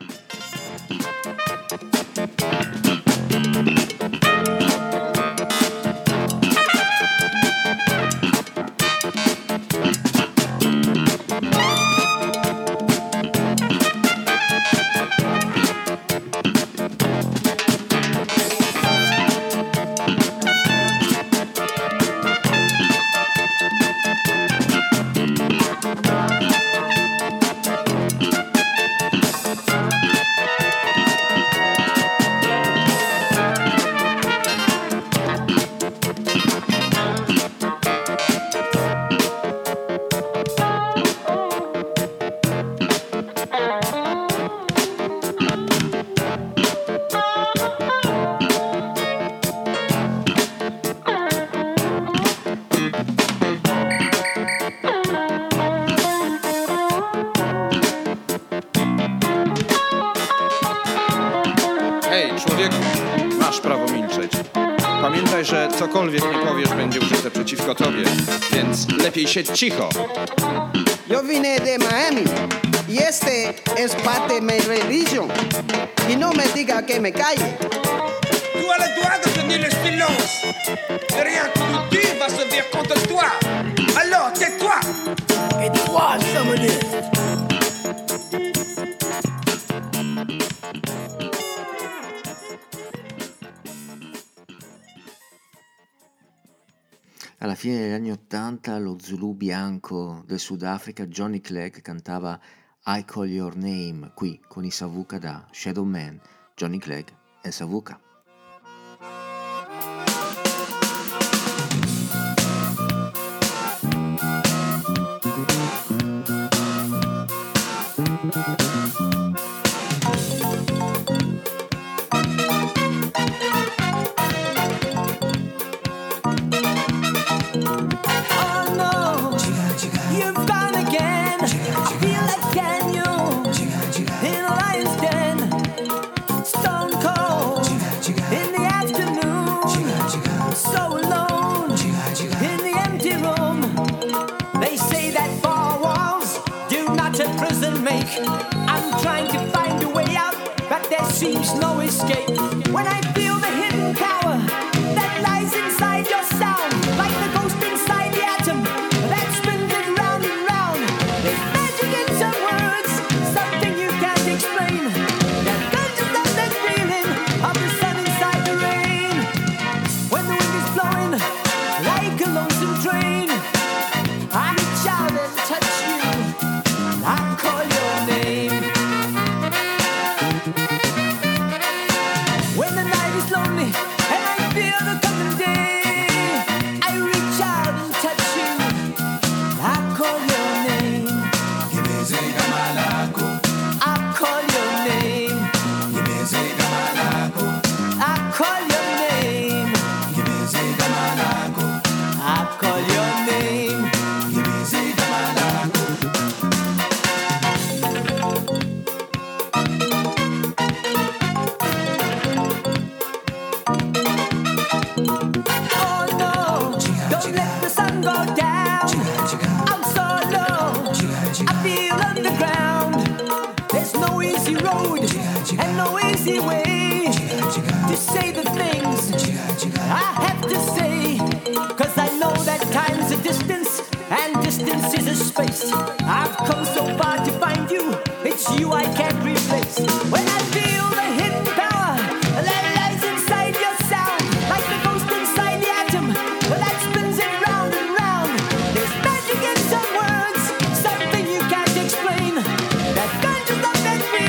Pamiętaj, że cokolwiek mi powiesz będzie użyte przeciwko tobie, więc lepiej siedź cicho. Yo vine de Miami y este es parte de mi religion. Y no me diga que me calle. Tu as le droit de tenir le silence. De rien que tu dis va servir contre toi. Alors tais-toi. Et toi, sommelier. Alla fine degli anni '80 lo Zulu bianco del Sudafrica Johnny Clegg cantava I Call Your Name qui con i Savuka da Shadow Man, Johnny Clegg e Savuka. I'm trying to find a way out, but there seems no escape. When I feel the hidden power that lies inside your sound, like the ghost inside the atom that spins it round and round. There's magic in some words, something you can't explain. That conscious of that feeling of the sun inside the rain. When the wind is blowing like a lonesome train, I reach out and touch you. I call your name. When the night is lonely and I feel the coming day, I reach out and touch you. I call your name. I call your name. I call your name. I call your name. And no easy way to say the things I have to say, 'cause I know that time's a distance and distance is a space. I've come so far to find you, it's you I can't replace. When I feel the hidden power that lies inside your sound, like the ghost inside the atom that spins it round and round. There's magic in some words, something you can't explain. That conscious of that feeling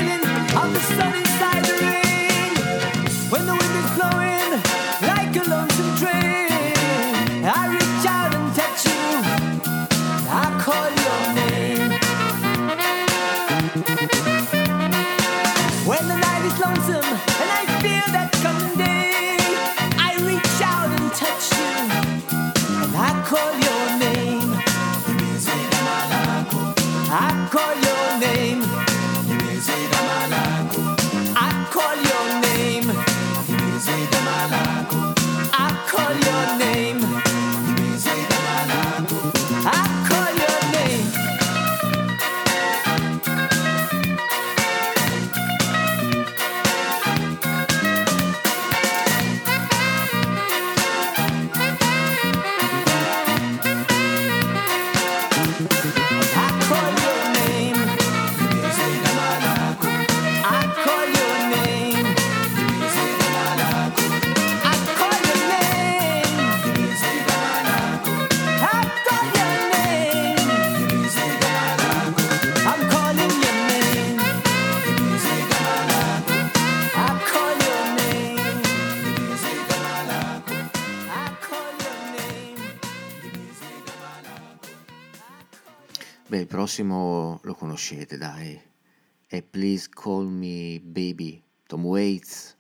Beh, il prossimo lo conoscete, dai. È Please Call Me Baby, Tom Waits.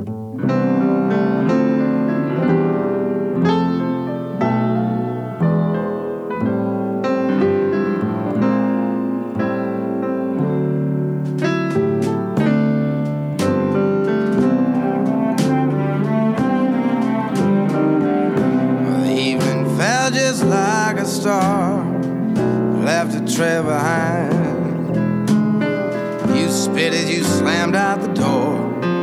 Just like a star, left a trail behind. You spit as you slammed out the door.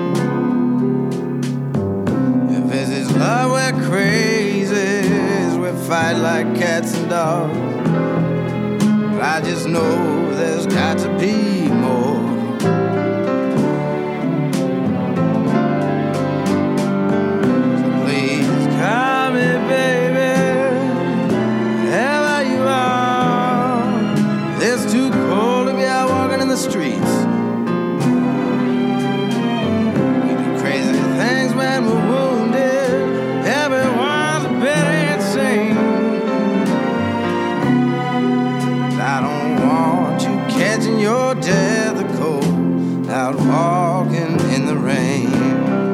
If this is love, we're crazies, we fight like cats and dogs. But I just know there's got to be more. So please call me baby. It's too cold to be out walking in the streets. We do crazy things when we're wounded. Everyone's a bit insane. I don't want you catching your death of cold out walking in the rain.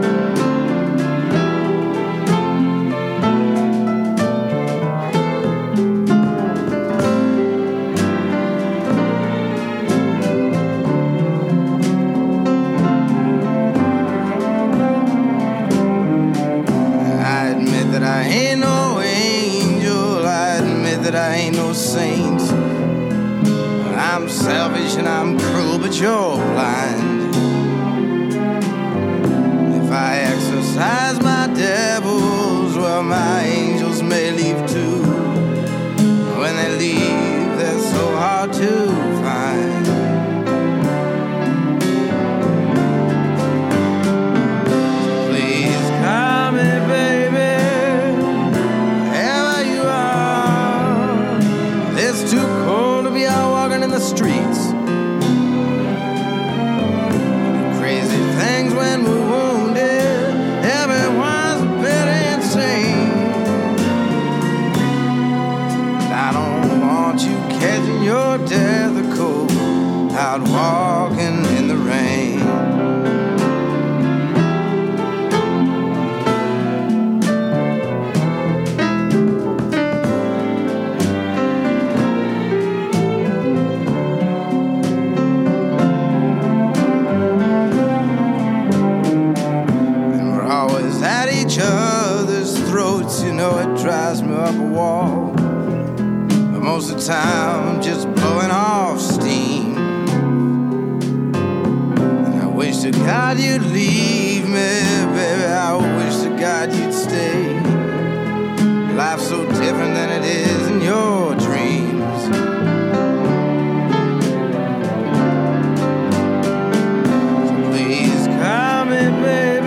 I ain't no angel, I admit that I ain't no saint. I'm selfish and I'm cruel, but you're blind. If I exercise my devils, well, my angels may leave too. When they leave, they're so hard to find. Please call me baby. It's too cold to be out walking in the streets. Crazy things when we're wounded. Everyone's a bit insane. I don't want you catching your death of cold out walking in the rain. Other's throats, you know it drives me up a wall. But most of the time I'm just blowing off steam. And I wish to God you'd leave me, baby, I wish to God you'd stay. Life's so different than it is in your dreams. So please call me baby.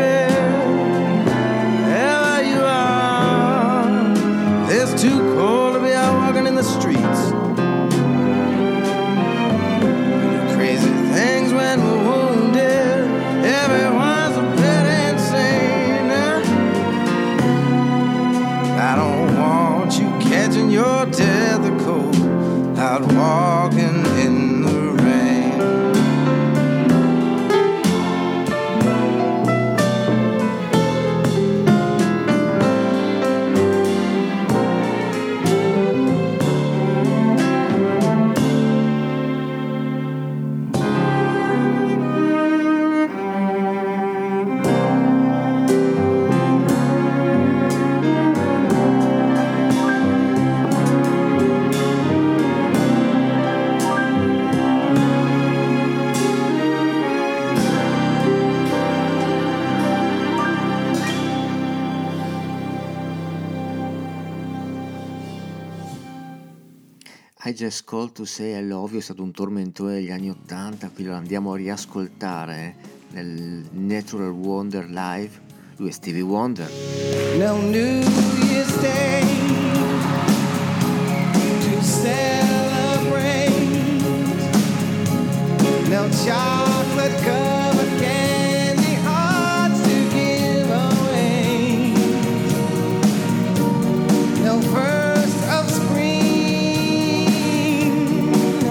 It's too cold to be out walking in the streets. We do crazy things when we're wounded. Everyone's a bit insane. I don't want you catching your death of cold out walking in the rain. I Just Called to Say I Love You è stato un tormentone degli anni 80, qui lo andiamo a riascoltare nel Natural Wonder Live. Lui è Stevie Wonder. No New Year's Day to celebrate. No chocolate covered candy hearts to give away. No first of spring.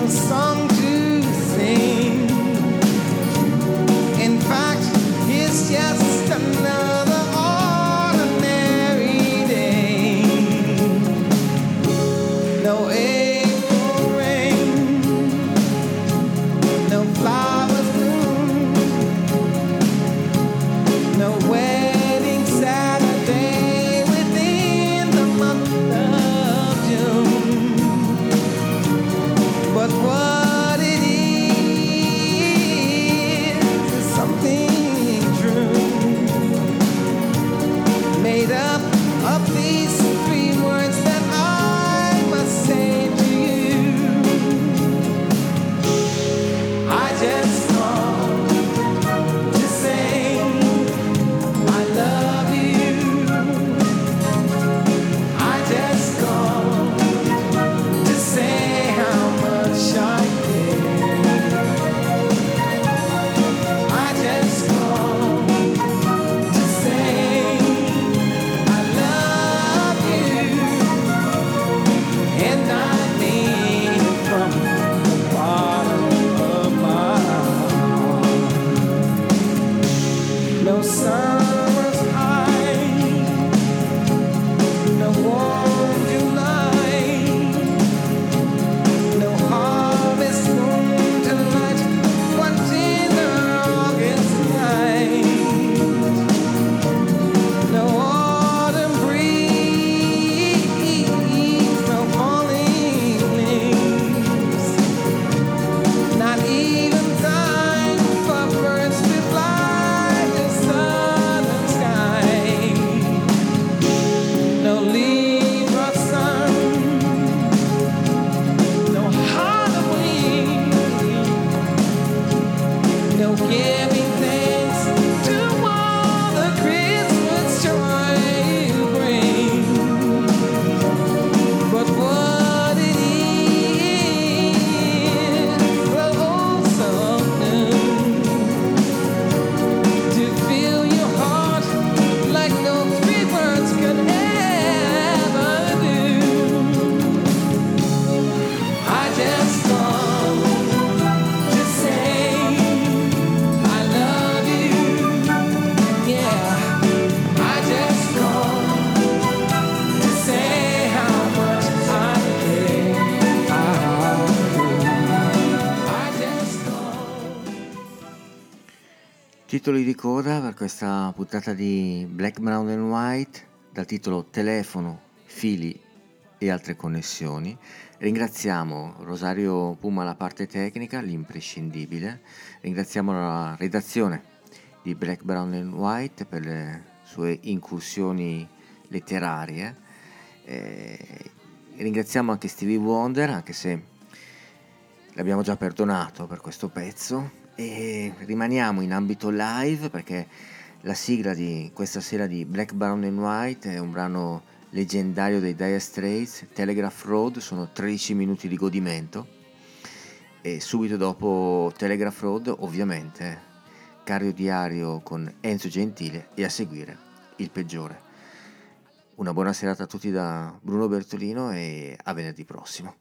titoli di coda per questa puntata di Black, Brown and White dal titolo Telefono, fili e altre connessioni. Ringraziamo Rosario Puma alla parte tecnica, l'imprescindibile. Ringraziamo la redazione di Black, Brown and White per le sue incursioni letterarie. Ringraziamo anche Stevie Wonder, anche se l'abbiamo già perdonato per questo pezzo, e rimaniamo in ambito live perché la sigla di questa sera di Black, Brown and White è un brano leggendario dei Dire Straits, Telegraph Road. Sono 13 minuti di godimento e subito dopo Telegraph Road ovviamente Cario Diario con Enzo Gentile e a seguire Il Peggiore. Una buona serata a tutti da Bruno Bertolino e a venerdì prossimo.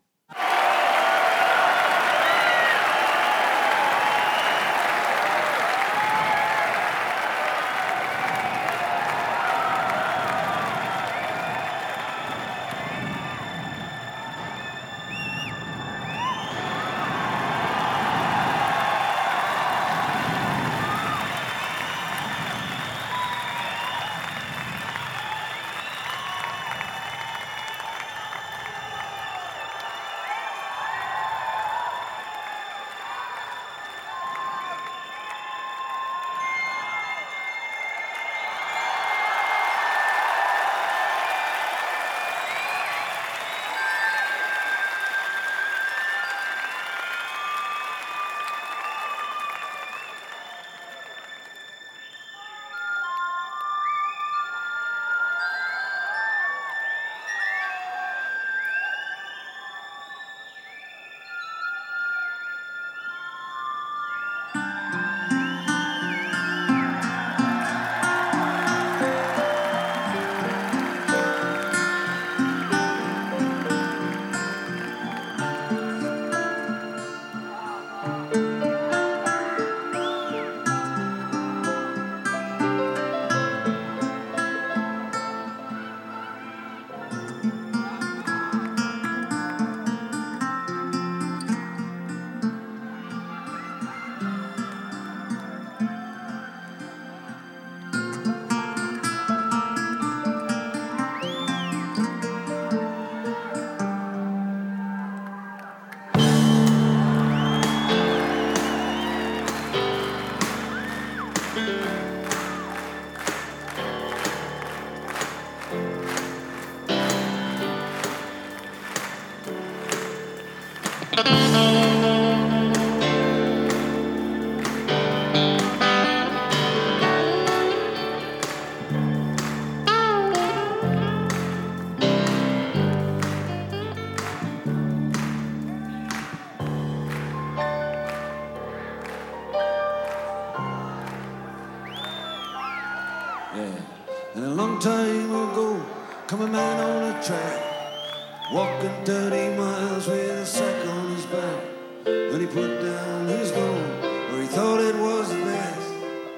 And a long time ago, come a man on a track, walking 30 miles with a sack on his back. When he put down his gold, where he thought it was the best,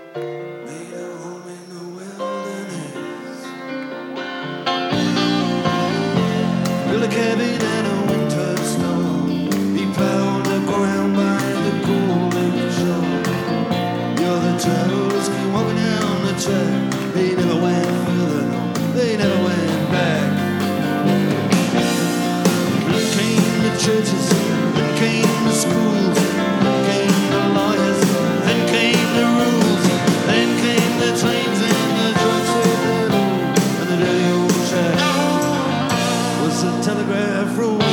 made a home in the wilderness. Built a cabin and a winter store. He plowed the ground by the golden shore. The other travelers came walking down the track. They never went further, no, they never went back. Then came the churches, then came the schools, then came the lawyers, then came the rules, then came the trains and the drugs with the loot. And the dirty old shack was a telegraph road.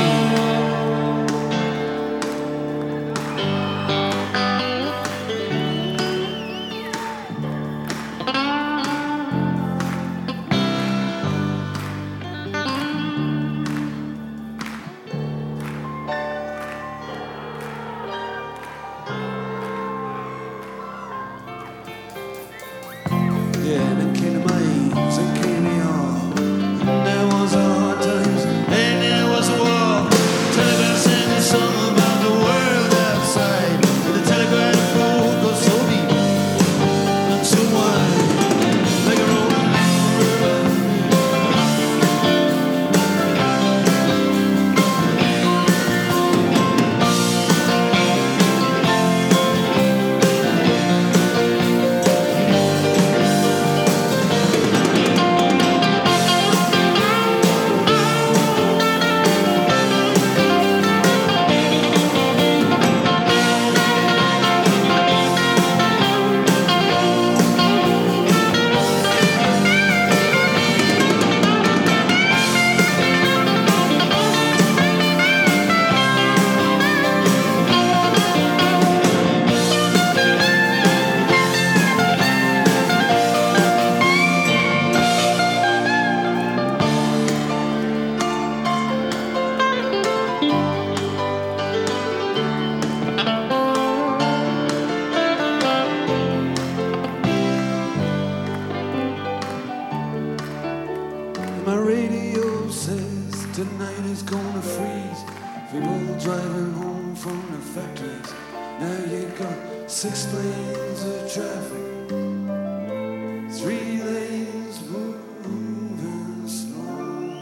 my radio says tonight is gonna freeze. People driving home from the factories. Now you got 6 lanes of traffic, 3 lanes moving slow.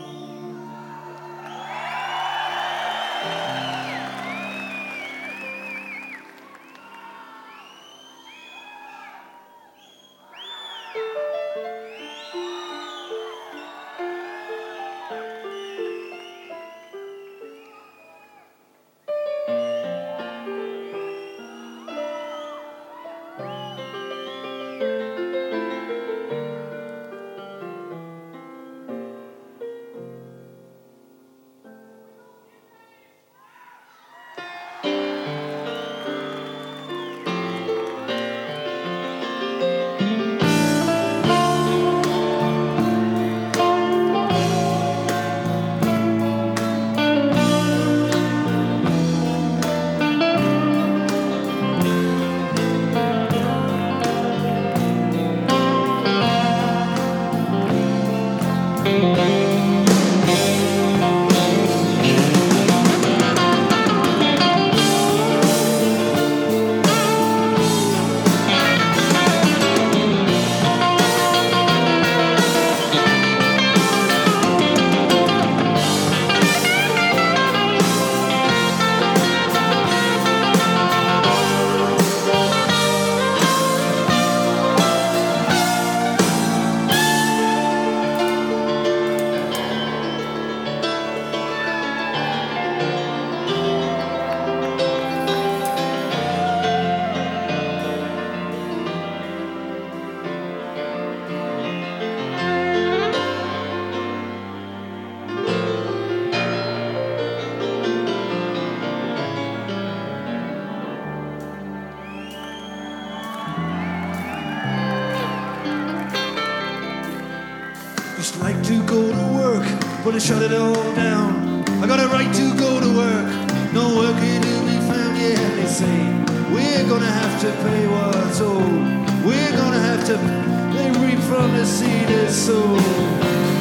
Just like to go to work, but I shut it all down. I got a right to go to work, no working to be found. Yeah, they say we're gonna have to pay what's owed. We're gonna have to they reap from the seed is sown.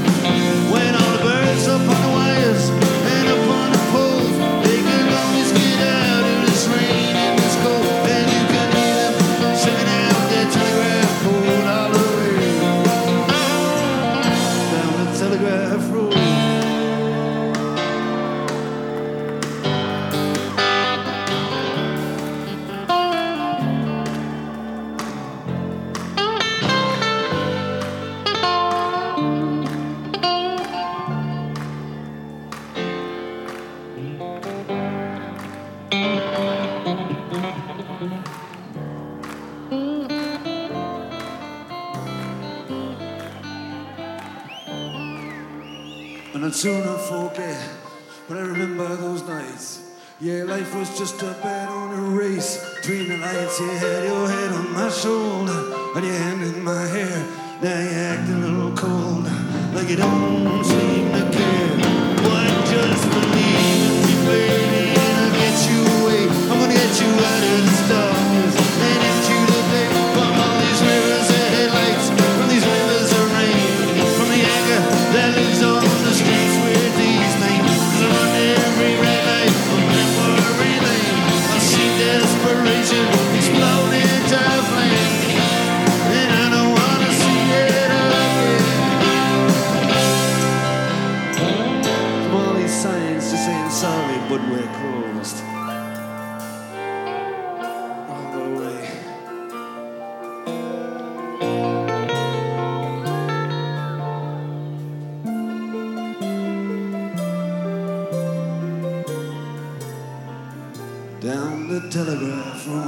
When all the birds up on the wires and up on the poles, they can always get out of this rain and this cold, and you can hear them singing out their telegraph pole all the way down the telegraph road. And I'd sooner forget, but I remember those nights. Yeah, life was just a bet on a race between the lights. You had your head on my shoulder and your hand in my hair. Now you act a little cold, like you don't seem to care. Why just believe in me, baby, and I'll get you away. I'm gonna get you out of this darkness and into the day. From all these rivers of headlights, from these rivers of rain, from the anger that lives on the streets with these names. 'Cause I run every red light, I'm in for everything. I see desperation explode into flame, and I don't wanna see it again. From all these signs just saying sorry, but we're closed. All the way. Down the telegraph road.